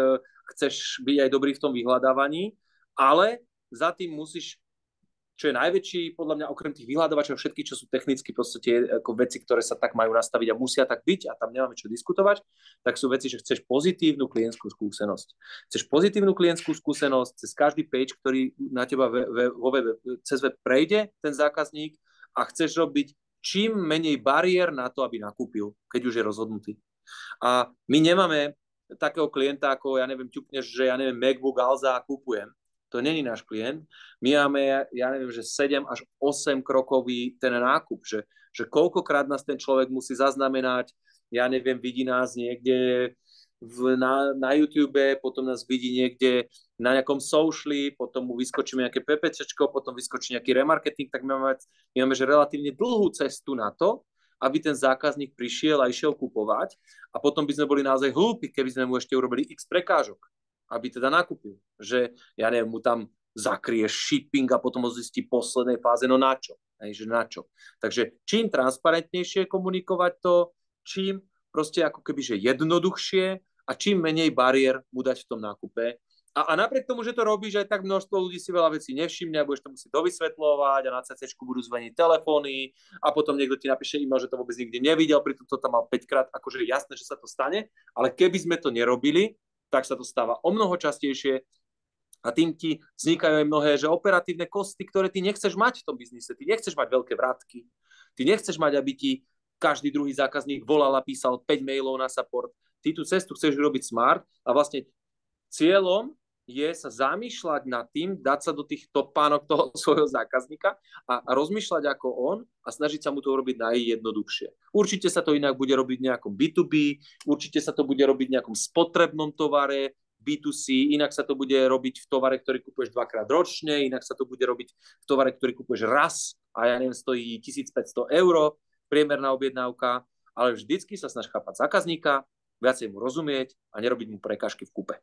chceš byť aj dobrý v tom vyhľadávaní, ale za tým musíš, čo je najväčší, podľa mňa, okrem tých vyhľadávačov, všetky, čo sú technicky proste tie ako veci, ktoré sa tak majú nastaviť a musia tak byť a tam nemáme čo diskutovať, tak sú veci, že chceš pozitívnu klientskú skúsenosť. Chceš pozitívnu klientskú skúsenosť cez každý page, ktorý na teba cez web prejde ten zákazník a chceš robiť čím menej bariér na to, aby nakúpil, keď už je rozhodnutý. A my nemáme takého klienta, ako, ja neviem, ťukneš, že ja neviem, MacBook Alza a kúpujem. To není náš klient. My máme, ja neviem, že 7 až 8 krokový ten nákup, že koľkokrát nás ten človek musí zaznamenať, ja neviem, vidí nás niekde na YouTube, potom nás vidí niekde na nejakom sociali, potom mu vyskočí nejaké PPCčko, potom vyskočí nejaký remarketing, tak my máme že relatívne dlhú cestu na to, aby ten zákazník prišiel a išiel kupovať a potom by sme boli naozaj hlúpi, keby sme mu ešte urobili x prekážok, aby teda nakúpil. Že, ja neviem, mu tam zakrieš shipping a potom ho zistí v poslednej fáze, no na čo? Že na čo? Takže čím transparentnejšie komunikovať to, čím proste ako keby, že jednoduchšie a čím menej bariér mu dať v tom nákupe. A napriek tomu, že to robíš, aj tak množstvo ľudí si veľa vecí nevšimne a budeš to musieť dovysvetľovať a na CCčku budú zvoniť telefóny a potom niekto ti napíše e-mail, že to vôbec nikdy nevidel, pritom to tam mal 5 krát, akože jasné, že sa to stane, ale keby sme to nerobili, tak sa to stáva o mnoho častejšie a tým ti vznikajú aj mnohé, že operatívne kosty, ktoré ty nechceš mať v tom biznise. Ty nechceš mať veľké vrátky. Ty nechceš mať, aby ti každý druhý zákazník volal a písal 5 mailov na support. Ty tú cestu chceš urobiť smart a vlastne cieľom je sa zamýšľať nad tým, dať sa do tých topánok toho svojho zákazníka a rozmýšľať ako on a snažiť sa mu to urobiť najjednoduchšie. Určite sa to inak bude robiť v nejakom B2B, určite sa to bude robiť v nejakom spotrebnom tovare, B2C, inak sa to bude robiť v tovare, ktorý kupuješ 2-krát ročne, inak sa to bude robiť v tovare, ktorý kupuješ raz a ja neviem, stojí 1500 €, priemerná objednávka, ale vždycky sa snaž chápať zákazníka, viacej mu rozumieť a nerobiť mu prekážky v kúpe.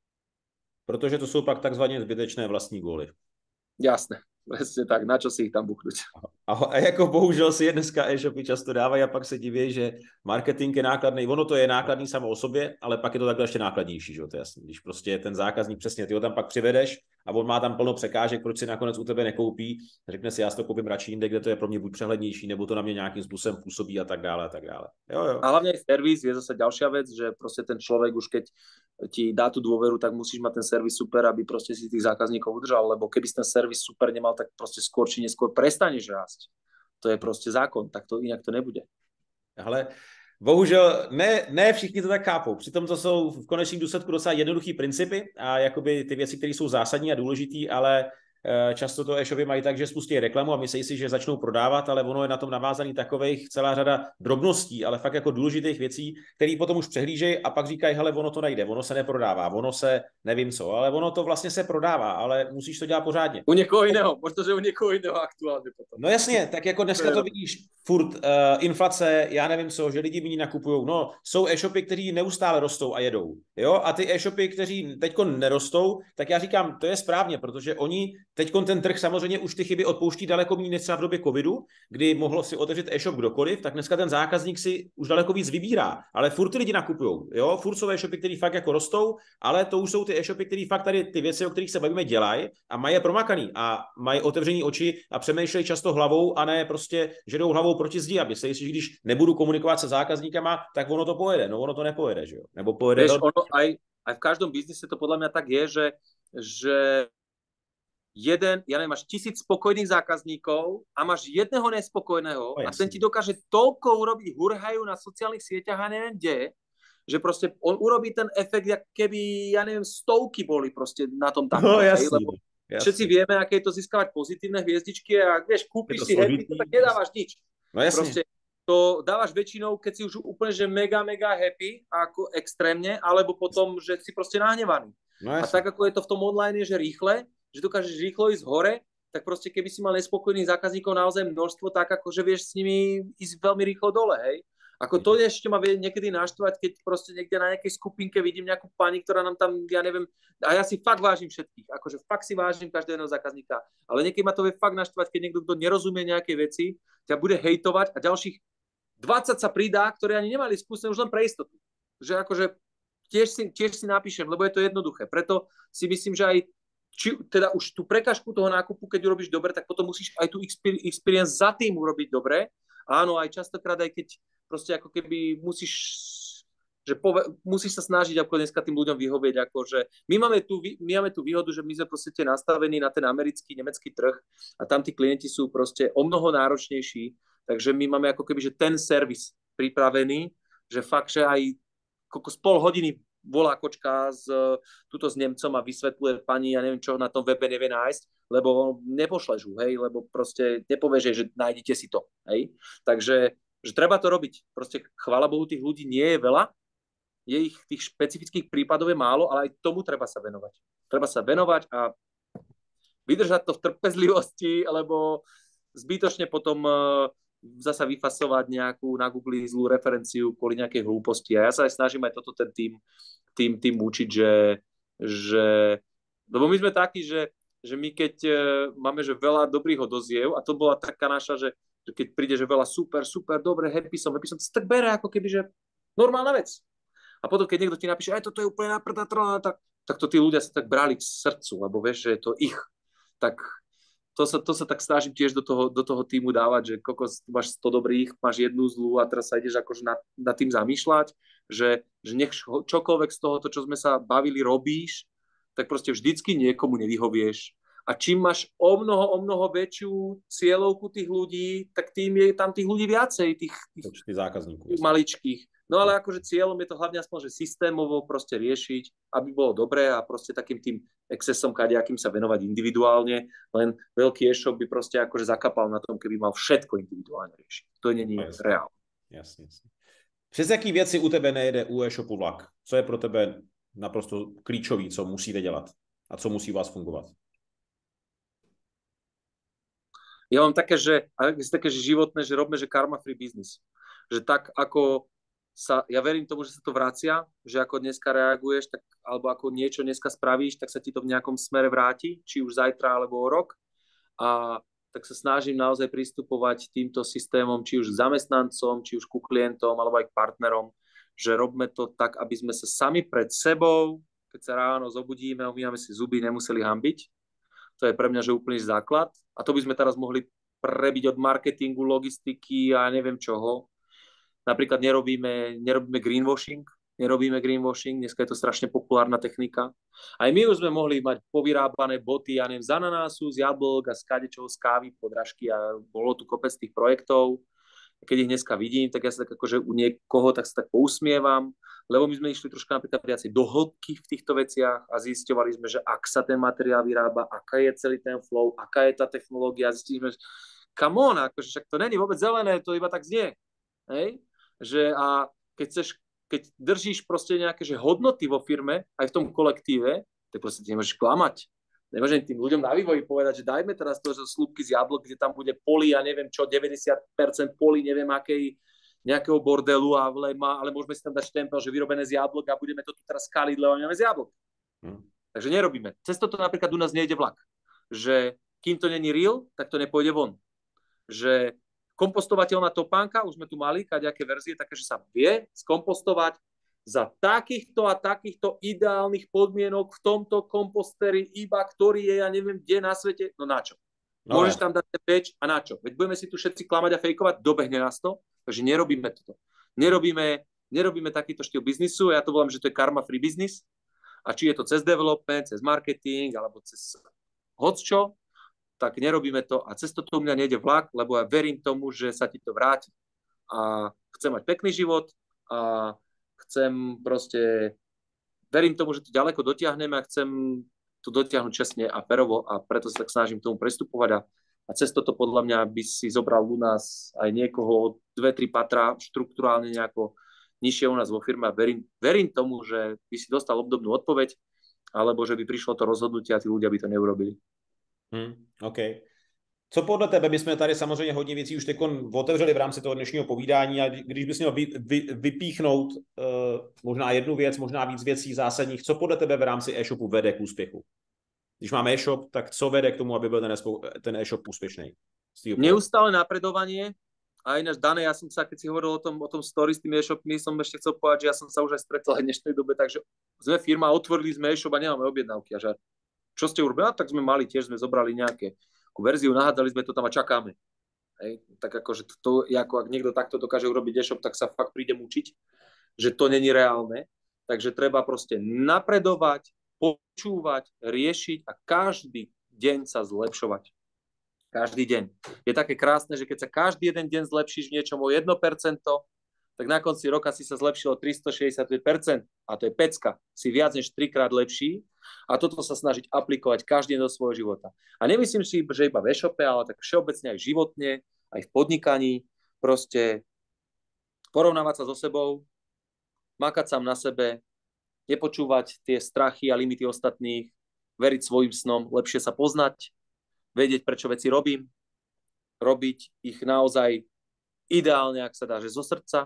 Protože to jsou pak takzvaně zbytečné vlastní góly. Jasné, presne tak, na čo si ich tam buchnúť. A jako bohužel si je dneska e-shopy často dávají a pak se diví, že marketing je nákladný. Ono to je nákladný samo o sobě, ale pak je to takhle ještě nákladnější, že jo, to je jasný. Když prostě ten zákazník, přesně, ty ho tam pak přivedeš a on má tam plno překážek, proč si nakonec u tebe nekoupí, řekne si, já si to koupím radši jinde, kde to je pro mě buď přehlednější, nebo to na mě nějakým způsobem působí a tak dále, a tak dále. Jo. A hlavne aj servis je zase ďalšia vec, že proste ten človek už keď ti dá tú dôveru, tak musíš mať ten servis super, aby proste si tých zákazníkov udržal, lebo keby si ten servis super nemal, tak proste skôr či neskôr prestaneš rásť. To je proste zákon, tak to inak to nebude. Ale bohužel ne všichni to tak chápou. Přitom to jsou v konečném důsledku docela jednoduchý principy a jakoby ty věci, které jsou zásadní a důležitý, ale často to e-shopy mají tak, že spustí reklamu a myslí si, že začnou prodávat, ale ono je na tom navázaný takových celá řada drobností, ale fakt jako důležitých věcí, které potom už přehlížejí a pak říkají, hele, ono to nejde, ono se neprodává, ono se nevím co, ale ono to vlastně se prodává, ale musíš to dělat pořádně. U někoho jiného, možná, že u někoho jiného aktuálně potom. No jasně, tak jako dneska to vidíš furt inflace, já nevím co, že lidi méně nakupují. No, jsou e-shopy, kteří neustále rostou a jedou. Jo? A ty e-shopy, kteří teďko nerostou, tak já říkám, to je správně, protože oni teďko ten trh samozřejmě už ty chyby odpouští daleko méně než třeba v době covidu, kdy mohlo si otevřít e-shop kdokoliv, tak dneska ten zákazník si už daleko víc vybírá. Ale furt ty lidi nakupují. Jo? Furt jsou e-shopy, které fakt jako rostou, ale to už jsou ty e-shopy, které fakt tady ty věci, o kterých se bavíme, dělají a mají je promakaný a mají otevřený oči a přemýšlejí často hlavou a ne prostě, že jdou hlavou proti zdi, aby se jistí, že když nebudu komunikovat se zákazníkama, tak ono to pojede. No ono to nepojede, že jo? Nebo pojede. Vieš, ono aj v každom biznise to podľa mňa tak je, že ja neviem, máš 1000 spokojných zákazníkov a máš jedného nespokojného a ten ti dokáže toľko urobiť hurhajú na sociálnych sieťach a neviem kde, že proste on urobí ten efekt, jak keby, ja neviem, stovky boli proste na tom takto. No jasný. Lebo všetci vieme, aké je to získavať pozitívne hviezdičky a vieš, kúpiš si happy, to tak nedávaš nič. No jasný. Proste to dávaš väčšinou, keď si už úplne že mega happy, ako extrémne, alebo potom, že si proste nahnevaný. No a tak, ako je to v tom online, že rýchle, že dokážeš rýchlo ísť hore, tak proste keby si mal nespokojných zákazníkov naozaj množstvo, tak akože vieš s nimi ísť veľmi rýchlo dole, hej. Ako to ešte ma vie niekedy naštvať, keď proste niekde na nejakej skupinke vidím nejakú pani, ktorá nám tam, ja neviem, a ja si fakt vážim všetkých, akože fakt si vážim každého zákazníka, ale niekedy ma to vie fakt naštvať, keď niekto, kto nerozumie nejaké veci, ťa bude hejtovať a ďalších 20 sa pridá, ktoré ani nemali skúsenosť už len pre istotu. Že akože tiež si napíšem, lebo je to jednoduché. Preto si myslím, že aj teda už tú prekažku toho nákupu, keď urobíš dobre, tak potom musíš aj tú experience za tým urobiť dobre. Áno, aj častokrát, aj keď proste ako keby musíš sa snažiť ako dneska tým ľuďom vyhovieť. Akože my máme tú výhodu, že my sme proste nastavení na ten americký, nemecký trh a tam tí klienti sú proste o mnoho náročnejší, takže my máme ako keby, že ten servis pripravený, že fakt, že aj z pol hodiny volá kočka tuto s Nemcom a vysvetľuje pani, ja neviem čo, na tom webe nevie nájsť, lebo nepošleš ju, hej, lebo proste nepovieš, že nájdete si to, hej. Takže že treba to robiť. Proste chvála Bohu, tých ľudí nie je veľa, je ich tých špecifických prípadov je málo, ale aj tomu treba sa venovať. Treba sa venovať a vydržať to v trpezlivosti, lebo zbytočne potom zasa vyfasovať nejakú na Google zlú referenciu kvôli nejakej hlúposti. A ja sa aj snažím aj toto ten tým učiť, že lebo my sme takí, že my keď máme že veľa dobrých odoziev, a to bola taká naša, že keď príde, že veľa super, dobre, happy som, to tak bere ako keby, že normálna vec. A potom, keď niekto ti napíše, aj toto je úplne naprda, tak to tí ľudia sa tak brali k srdcu, lebo vieš, že je to ich. Tak to sa tak snažím tiež do toho týmu dávať, že kokos, máš 100 dobrých, máš jednu zlú a teraz sa ideš akože nad tým zamýšľať, že nech čokoľvek z toho, čo sme sa bavili, robíš, tak proste vždycky niekomu nevyhovieš. A čím máš o mnoho väčšiu cieľovku tých ľudí, tak tým je tam tých ľudí viacej, tých zákazníkov maličkých. No ale akože cieľom je to hlavne aspoň, že systémovo proste riešiť, aby bolo dobré a proste takým tým excesom kadejakým sa venovať individuálne, len veľký e-shop by proste akože zakapal na tom, keby mal všetko individuálne riešiť. To není reálne. Jasne. Přes jaký věci u tebe nejde u e-shopu vlak? Co je pro tebe naprosto klíčový, co musíte dělat a co musí vás fungovat? Ja mám také, že životné, že robíme, že karma free business. Že tak, ako ja verím tomu, že sa to vracia, že ako dneska reaguješ, tak, alebo ako niečo dneska spravíš, tak sa ti to v nejakom smere vráti, či už zajtra, alebo o rok. A tak sa snažím naozaj pristupovať týmto systémom, či už k zamestnancom, či už ku klientom, alebo aj k partnerom, že robíme to tak, aby sme sa sami pred sebou, keď sa ráno zobudíme, umývame si zuby, nemuseli hanbiť. To je pre mňa, že úplný základ. A to by sme teraz mohli prebiť od marketingu, logistiky a neviem čoho. Napríklad nerobíme greenwashing. Dneska je to strašne populárna technika. Aj my už sme mohli mať povyrábané boty, ja neviem, z ananásu, z jablk a z kadečoho, z kávy, podrážky a bolo tu kopec tých projektov. Keď ich dneska vidím, tak ja sa tak akože u niekoho tak sa tak pousmievam, lebo my sme išli troška napríklad viacej do hĺbky v týchto veciach a zisťovali sme, že ak sa ten materiál vyrába, aká je celý ten flow, aká je tá technológia, zistili sme, že come on, akože však to není vôbec zelené, to iba tak znie. Hej? Že a keď držíš proste nejaké že hodnoty vo firme, aj v tom kolektíve, tak proste ty nemôžeš klamať. Nemôžem tým ľuďom na vývoji povedať, že dajme teraz to, že slúpky z jablok, kde tam bude poli, ja neviem čo, 90% poli, neviem akej, nejakého bordelu ale môžeme si tam dať štempel, že vyrobené z jablok a budeme to tu teraz skaliť, lebo máme z jablok. Takže nerobíme. Cez toto napríklad u nás nejde vlak. Že kým to není real, tak to nepôjde von. Že kompostovateľná topánka, už sme tu mali kadejaké verzie, také, že sa vie skompostovať za takýchto a takýchto ideálnych podmienok v tomto komposteri, iba ktorý je, ja neviem, kde na svete, no na čo? No, môžeš tam dať peč a na čo? Veď budeme si tu všetci klamať a fejkovať, dobehne nás to, takže nerobíme toto. Nerobíme takýto štýl biznisu, ja to volám, že to je karma free business, a či je to cez development, cez marketing, alebo cez hocčo, tak nerobíme to a cez toto u mňa nejde vlak, lebo ja verím tomu, že sa ti to vráti. A chcem mať pekný život a chcem proste, verím tomu, že to ďaleko dotiahneme a chcem to dotiahnuť čestne a perovo a preto sa tak snažím tomu prestupovať a cez toto podľa mňa by si zobral u nás aj niekoho 2-3 patra štruktúrálne nejako nižšie u nás vo firme a verím tomu, že by si dostal obdobnú odpoveď alebo že by prišlo to rozhodnutie a tí ľudia by to neurobili. OK. Co podle tebe, my jsme tady samozřejmě hodně věcí už teď otevřeli v rámci toho dnešního povídání a když bys měl vypíchnout možná jednu věc, možná víc věcí zásadních, co podle tebe v rámci e-shopu vede k úspěchu? Když máme e-shop, tak co vede k tomu, aby byl ten e-shop úspěšný? Neustále napredovanie a ináč, Dane, ja som sa, keď si hovoril o tom story s tými e-shopmi, som ešte chcel povedať, že ja som sa už aj stretol aj v dnešnej dobe, takže sme firma, otvorili sme e-shop a nemáme objednávky a že čo ste urobili? Tak sme mali, tiež sme zobrali nejaké verziu, nahádzali sme to tam a čakáme. Hej? Tak akože to, ako ak niekto takto dokáže urobiť e-shop, tak sa fakt príde mučiť, že to není reálne. Takže treba proste napredovať, počúvať, riešiť a každý deň sa zlepšovať. Každý deň. Je také krásne, že keď sa každý jeden deň zlepšíš v niečom o 1%, tak na konci roka si sa zlepšilo 365% a to je pecka. Si viac než 3-krát lepší a toto sa snažiť aplikovať každý deň do svojho života. A nemyslím si, že iba v e-shope, ale tak všeobecne aj životne, aj v podnikaní, proste porovnávať sa so sebou, makať sám na sebe, nepočúvať tie strachy a limity ostatných, veriť svojim snom, lepšie sa poznať, vedieť, prečo veci robím, robiť ich naozaj ideálne, ak sa dá, že zo srdca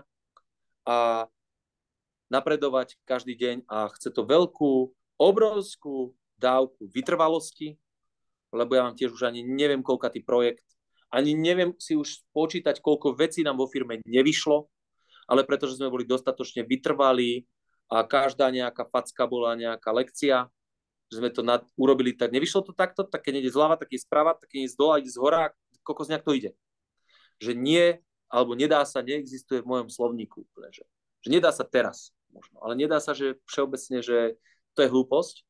a napredovať každý deň a chce to veľkú, obrovskú dávku vytrvalosti, lebo ja mám tiež už ani neviem, koľkatý projekt, ani neviem si už počítať, koľko vecí nám vo firme nevyšlo, ale pretože sme boli dostatočne vytrvalí a každá nejaká facka bola nejaká lekcia, že sme to urobili tak, nevyšlo to takto, tak keď ide zľava, tak ide sprava, tak keď ide z dola, ide z hora, kokos nejak to ide. Že nie, alebo nedá sa, neexistuje v mojom slovníku. Že nedá sa teraz možno, ale nedá sa, že všeobecne, že to je hlúposť.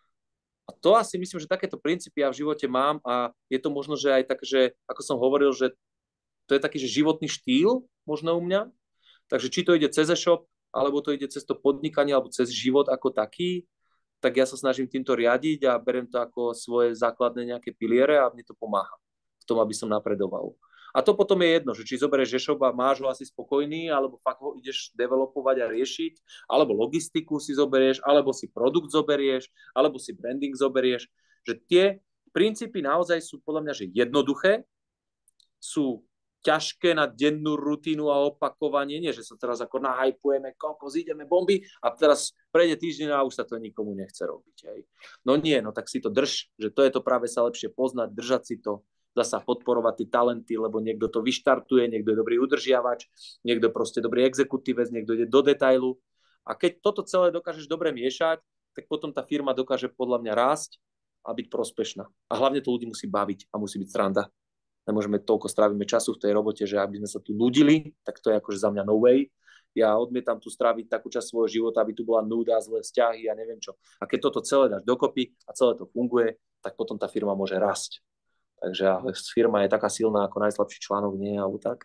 A to asi myslím, že takéto princípy ja v živote mám a je to možno, že aj tak, že ako som hovoril, že to je taký, že životný štýl možno u mňa. Takže či to ide cez e-shop, alebo to ide cez to podnikanie, alebo cez život ako taký, tak ja sa snažím týmto riadiť a beriem to ako svoje základné nejaké piliere a mne to pomáha v tom, aby som napredoval. A to potom je jedno, že či zoberieš e-shop a máš ho asi spokojný, alebo fakt ho ideš developovať a riešiť, alebo logistiku si zoberieš, alebo si produkt zoberieš, alebo si branding zoberieš, že tie princípy naozaj sú podľa mňa, že jednoduché, sú ťažké na dennú rutinu a opakovanie, nie, že sa teraz ako nahypujeme, kokos, ideme bomby a teraz prejde týždeň a už sa to nikomu nechce robiť. Hej. No nie, no tak si to drž, že to je to práve sa lepšie poznať, držať si to, zasa podporovať tie talenty, lebo niekto to vyštartuje, niekto je dobrý udržiavač, niekto proste dobrý exekutívec, niekto ide do detailu a keď toto celé dokážeš dobre miešať, tak potom tá firma dokáže podľa mňa rásť a byť prospešná. A hlavne to ľudí musí baviť a musí byť sranda. Nemôžeme toľko strávime času v tej robote, že aby sme sa tu nudili, tak to je akože za mňa no way. Ja odmietam tu stráviť takú časť svojho života, aby tu bola núda, zlé vzťahy a neviem čo. A keď toto celé dáš dokopy a celé to funguje, tak potom tá firma môže rásť. Takže firma je taká silná ako najslabší článok, nie, alebo tak.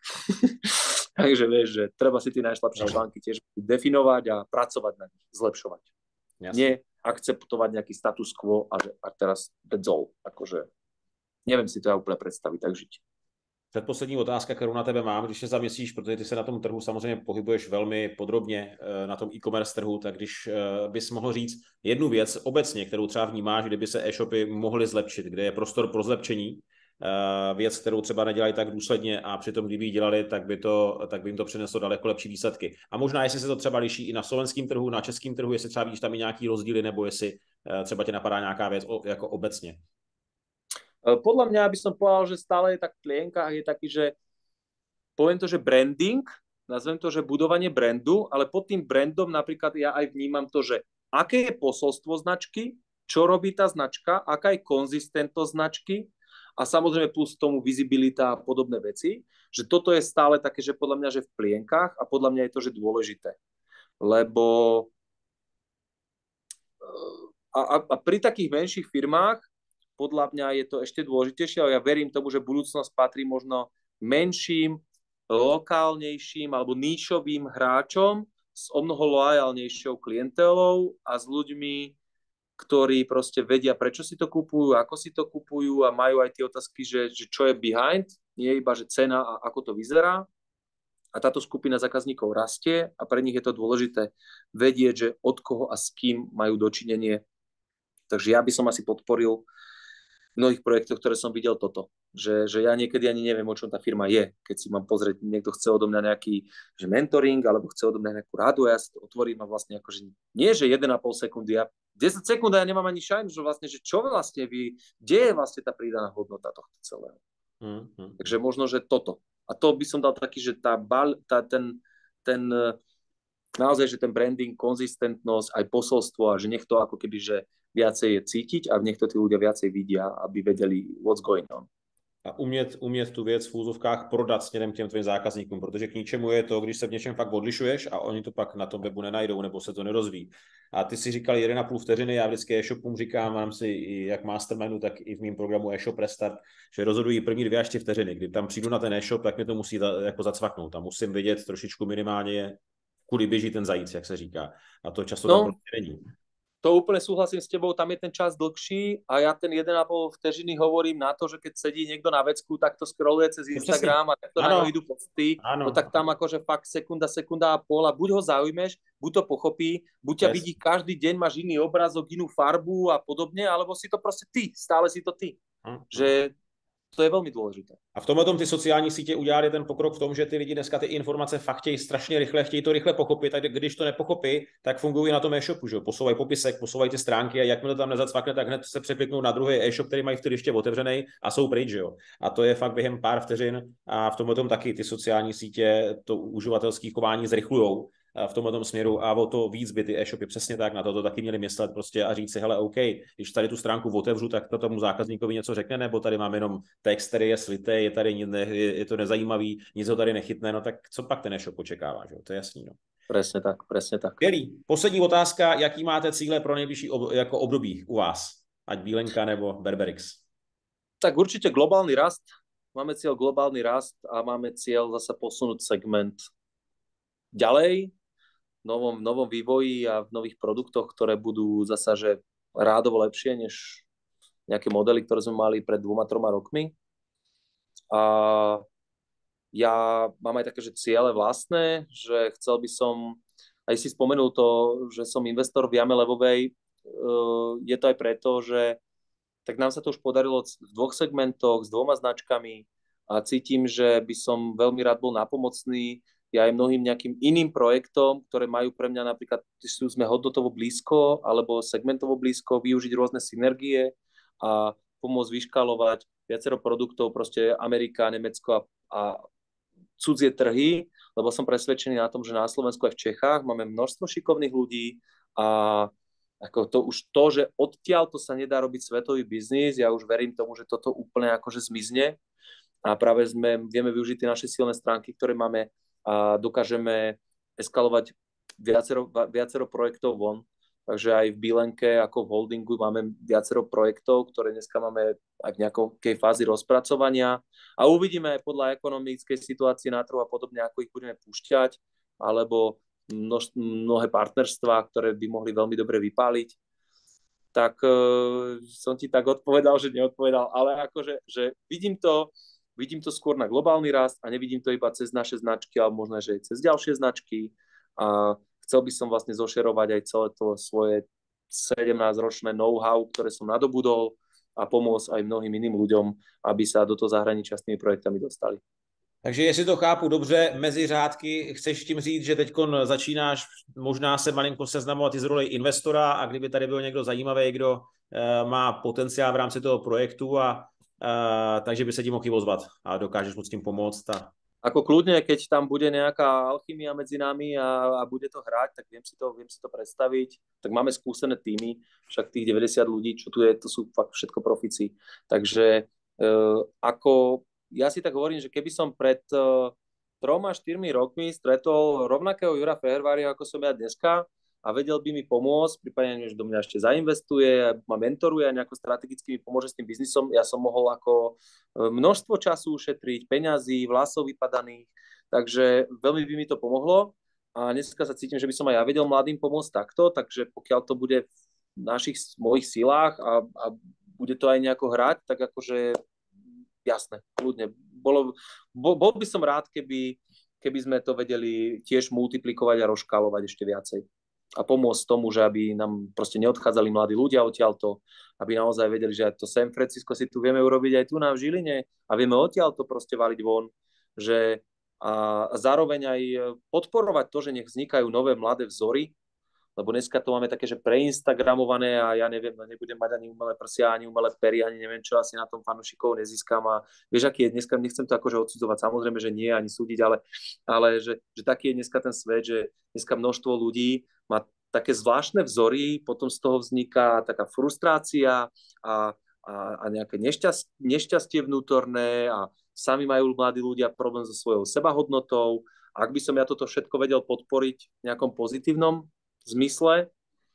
Takže vieš, že treba si tie najslabšie články tiež definovať a pracovať na nich, zlepšovať. Jasne. Nie akceptovať nejaký status quo a teraz that's all. Akože neviem si to ja úplne predstaviť, tak žiť. Předposlední otázka, kterou na tebe mám, když se zamyslíš, protože ty se na tom trhu samozřejmě pohybuješ velmi podrobně na tom e-commerce trhu, tak když bys mohl říct jednu věc obecně, kterou třeba vnímáš, kdyby se e-shopy mohly zlepšit, kde je prostor pro zlepšení, věc, kterou třeba nedělají tak důsledně a přitom, kdyby ji dělali, tak by jim to přineslo daleko lepší výsledky. A možná, jestli se to třeba liší i na slovenském trhu, na českém trhu, jestli třeba víš tam i nějaký rozdíly, nebo jestli třeba tě napadá nějaká věc jako obecně. Podľa mňa by som povedal, že stále je tak v plienkách, je taký, že poviem to, že branding, nazvem to, že budovanie brandu, ale pod tým brandom napríklad ja aj vnímam to, že aké je posolstvo značky, čo robí tá značka, aká je konzistentnosť značky a samozrejme plus tomu vizibilita a podobné veci, že toto je stále také, že podľa mňa, že v plienkách a podľa mňa je to, že dôležité. Lebo a pri takých menších firmách podľa mňa je to ešte dôležitejšie, ale ja verím tomu, že budúcnosť patrí možno menším, lokálnejším alebo níšovým hráčom s omnoho lojálnejšou klientelou a s ľuďmi, ktorí proste vedia, prečo si to kupujú, ako si to kupujú a majú aj tie otázky, že čo je behind, nie iba, že cena a ako to vyzerá. A táto skupina zákazníkov rastie a pre nich je to dôležité vedieť, že od koho a s kým majú dočinenie. Takže ja by som asi podporil v mnohých projektoch, ktoré som videl toto. Že ja niekedy ani neviem, o čom tá firma je. Keď si mám pozrieť, niekto chce odo mňa nejaký že mentoring, alebo chce odo mňa nejakú radu, a ja si to otvorím a vlastne akože nie, že 1,5 sekundy, ja 10 sekúnd ja nemám ani šajnu, že vlastne, že čo vlastne vy, kde je vlastne tá pridaná hodnota tohto celého. Takže možno, že toto. A to by som dal taký, že naozaj, že ten branding, konzistentnosť, aj posolstvo a že nech to ako keby, že viacej je cítiť a nech to tí ľudia viacej vidia, aby vedeli what's going on. A umět tu věc v úzovkách prodat směrem k těm tvým zákazníkům, protože k ničemu je to, když se v něčem fakt odlišuješ a oni to pak na tom webu nenajdou nebo se to nerozvíjí. A ty si říkal 1,5 vteřiny, já vždycky e-shopům říkám, mám si i jak mastermindu, tak i v mém programu e-shop Restart, že rozhodují první 2 až 3 vteřiny. Kdy tam přijdu na ten e-shop, tak mi to musí jako zacvaknout. Tam musím vědět trošičku minimálně, kudy běží ten zajíc, jak se říká. A to často tam prostě není. To úplne súhlasím s tebou, tam je ten čas dlhší a ja ten 1,5 vteřiny hovorím na to, že keď sedí niekto na vecku, tak to scrolluje cez Instagram a tak to na ňo idú posty, no tak tam akože fakt sekunda a pol a buď ho zaujmeš, buď to pochopí, buď ťa vidí každý deň, máš iný obrazok, inú farbu a podobne, alebo si to proste ty, stále si to ty. Že to je velmi důležité. A v tomhle ty sociální sítě udělali ten pokrok v tom, že ty lidi dneska ty informace fakt chtějí strašně rychle, chtějí to rychle pochopit, tak když to nepochopí, tak fungují na tom e-shopu, že jo? Posouvají popisek, posouvají ty stránky a jakmile to tam nezacvakne, tak hned se překliknou na druhý e-shop, který mají vtedy ještě otevřený a jsou pryč, že jo? A to je fakt během pár vteřin a v tomhle taky ty sociální sítě to uživatelské chování zrychlujou v tomhle směru a o to víc by ty e-shopy přesně tak na to taky měli myslet prostě a říct si, hele, OK, když tady tu stránku otevřu, tak to tomu zákazníkovi něco řekne, nebo tady mám jenom text, který je slitý, je tady je to nezajímavý, nic ho tady nechytne, no tak co pak ten e-shop očekává, že? To je jasný, no. Presne tak, presne tak. Skvělý. Poslední otázka, jaký máte cíle pro nejbližší jako období u vás? Ať Bílenka nebo Berberix? Tak určite globálny rast. Máme cieľ globálny rast a máme cieľ zase posunúť segment ďalej, v novom vývoji a v nových produktoch, ktoré budú zasa, že rádovo lepšie než nejaké modely, ktoré sme mali pred 2-3 rokmi. A ja mám aj také, že ciele vlastné, že chcel by som, aj si spomenul to, že som investor v Jame Levovej, je to aj preto, že tak nám sa to už podarilo v 2 segmentoch s 2 značkami a cítim, že by som veľmi rád bol nápomocný aj mnohým nejakým iným projektom, ktoré majú pre mňa napríklad, sme hodnotovo blízko alebo segmentovo blízko, využiť rôzne synergie a pomôcť vyškalovať viacero produktov, proste Amerika, Nemecko a cudzie trhy, lebo som presvedčený na tom, že na Slovensku aj v Čechách máme množstvo šikovných ľudí a ako to už to, že odtiaľ to sa nedá robiť svetový biznis, ja už verím tomu, že toto úplne akože zmizne a práve vieme využiť tie naše silné stránky, ktoré máme a dokážeme eskalovať viacero projektov von. Takže aj v Bílenke, ako v holdingu, máme viacero projektov, ktoré dneska máme aj v nejakej fázi rozpracovania. A uvidíme aj podľa ekonomickej situácie na trhu a podobne, ako ich budeme púšťať, alebo mnohé partnerstvá, ktoré by mohli veľmi dobre vypáliť. Tak som ti tak odpovedal, že neodpovedal, ale akože že vidím to vidím to skôr na globálny rast a nevidím to iba cez naše značky, ale možno, že aj cez ďalšie značky. A chcel by som vlastne zošerovať aj celé to svoje 17-ročné know-how, ktoré som nadobudol a pomôcť aj mnohým iným ľuďom, aby sa do toho zahraničia s tými projektami dostali. Takže jestli to chápu dobře, mezi řádky chceš tím říct, že teď začínáš možná se malinko seznamovat i z roli investora a kdyby tady byl někdo zajímavý, kdo má potenciál v rámci toho projektu takže by se ti mohl ozvat a dokážeš mu s tím pomoct. Ako kľudne, keď tam bude nejaká alchymia medzi nami a bude to hrať, tak viem si to predstaviť. Tak máme skúsené týmy, však tých 90 ľudí, čo tu je, to sú fakt všetko profici. Takže ja si tak hovorím, že keby som pred 3-4 rokmi stretol rovnakého Jura Feherváriho, ako som ja dneska, a vedel by mi pomôcť, prípadne, že do mňa ešte zainvestuje, ma mentoruje a nejako strategicky mi pomôže s tým biznisom, ja som mohol ako množstvo času ušetriť, peňazí, vlasov vypadaných, takže veľmi by mi to pomohlo a dneska sa cítim, že by som aj ja vedel mladým pomôcť takto, takže pokiaľ to bude v mojich silách a bude to aj nejako hrať, tak akože jasné, kľudne. Bol by som rád, keby sme to vedeli tiež multiplikovať a rozškálovať ešte viacej. A pomôcť tomu, že aby nám proste neodchádzali mladí ľudia odtiaľto, aby naozaj vedeli, že to San Francisco si tu vieme urobiť aj tu na v Žiline a vieme odtiaľto proste valiť von, že a zároveň aj podporovať to, že nech vznikajú nové mladé vzory, lebo dneska to máme také, že preinstagramované a ja neviem, nebudem mať ani umelé prsia, ani umelé pery, ani neviem čo, asi na tom fanúšikov nezískam a vieš, aký je dneska, nechcem to akože odsudzovať, samozrejme, že nie, ani súdiť, ale že taký je dneska ten svet, že dneska množstvo ľudí má také zvláštne vzory, potom z toho vzniká taká frustrácia a nejaké nešťastie vnútorné a sami majú mladí ľudia problém so svojou sebahodnotou. Ak by som ja toto všetko vedel podporiť v nejakom pozitívnom zmysle,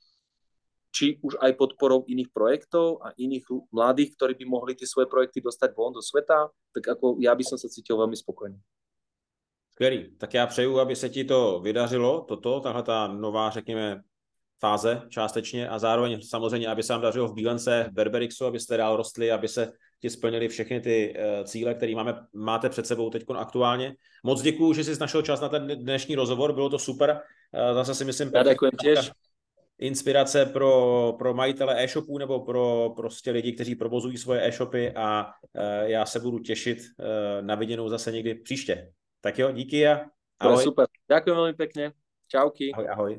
či už aj podporou iných projektov a iných mladých, ktorí by mohli tie svoje projekty dostať von do sveta, tak ako ja by som sa cítil veľmi spokojný. Skvělý. Tak já přeju, aby se ti to vydařilo, tahle ta nová, řekněme, fáze částečně a zároveň samozřejmě, aby se vám dařilo v Bílence, v Berberixu, abyste dál rostli, aby se ti splnili všechny ty cíle, které máte před sebou teď aktuálně. Moc děkuju, že jsi našel čas na ten dnešní rozhovor, bylo to super. Zase si myslím, ja ďakujem tiež. Inspirace pro majitele e-shopů nebo pro prostě lidi, kteří provozují svoje e-shopy a já se budu těšit na viděnou zase někdy příště. Tak jo, díky a ahoj. Super. Ďakujem veľmi pekne. Čauky. Ahoj, ahoj.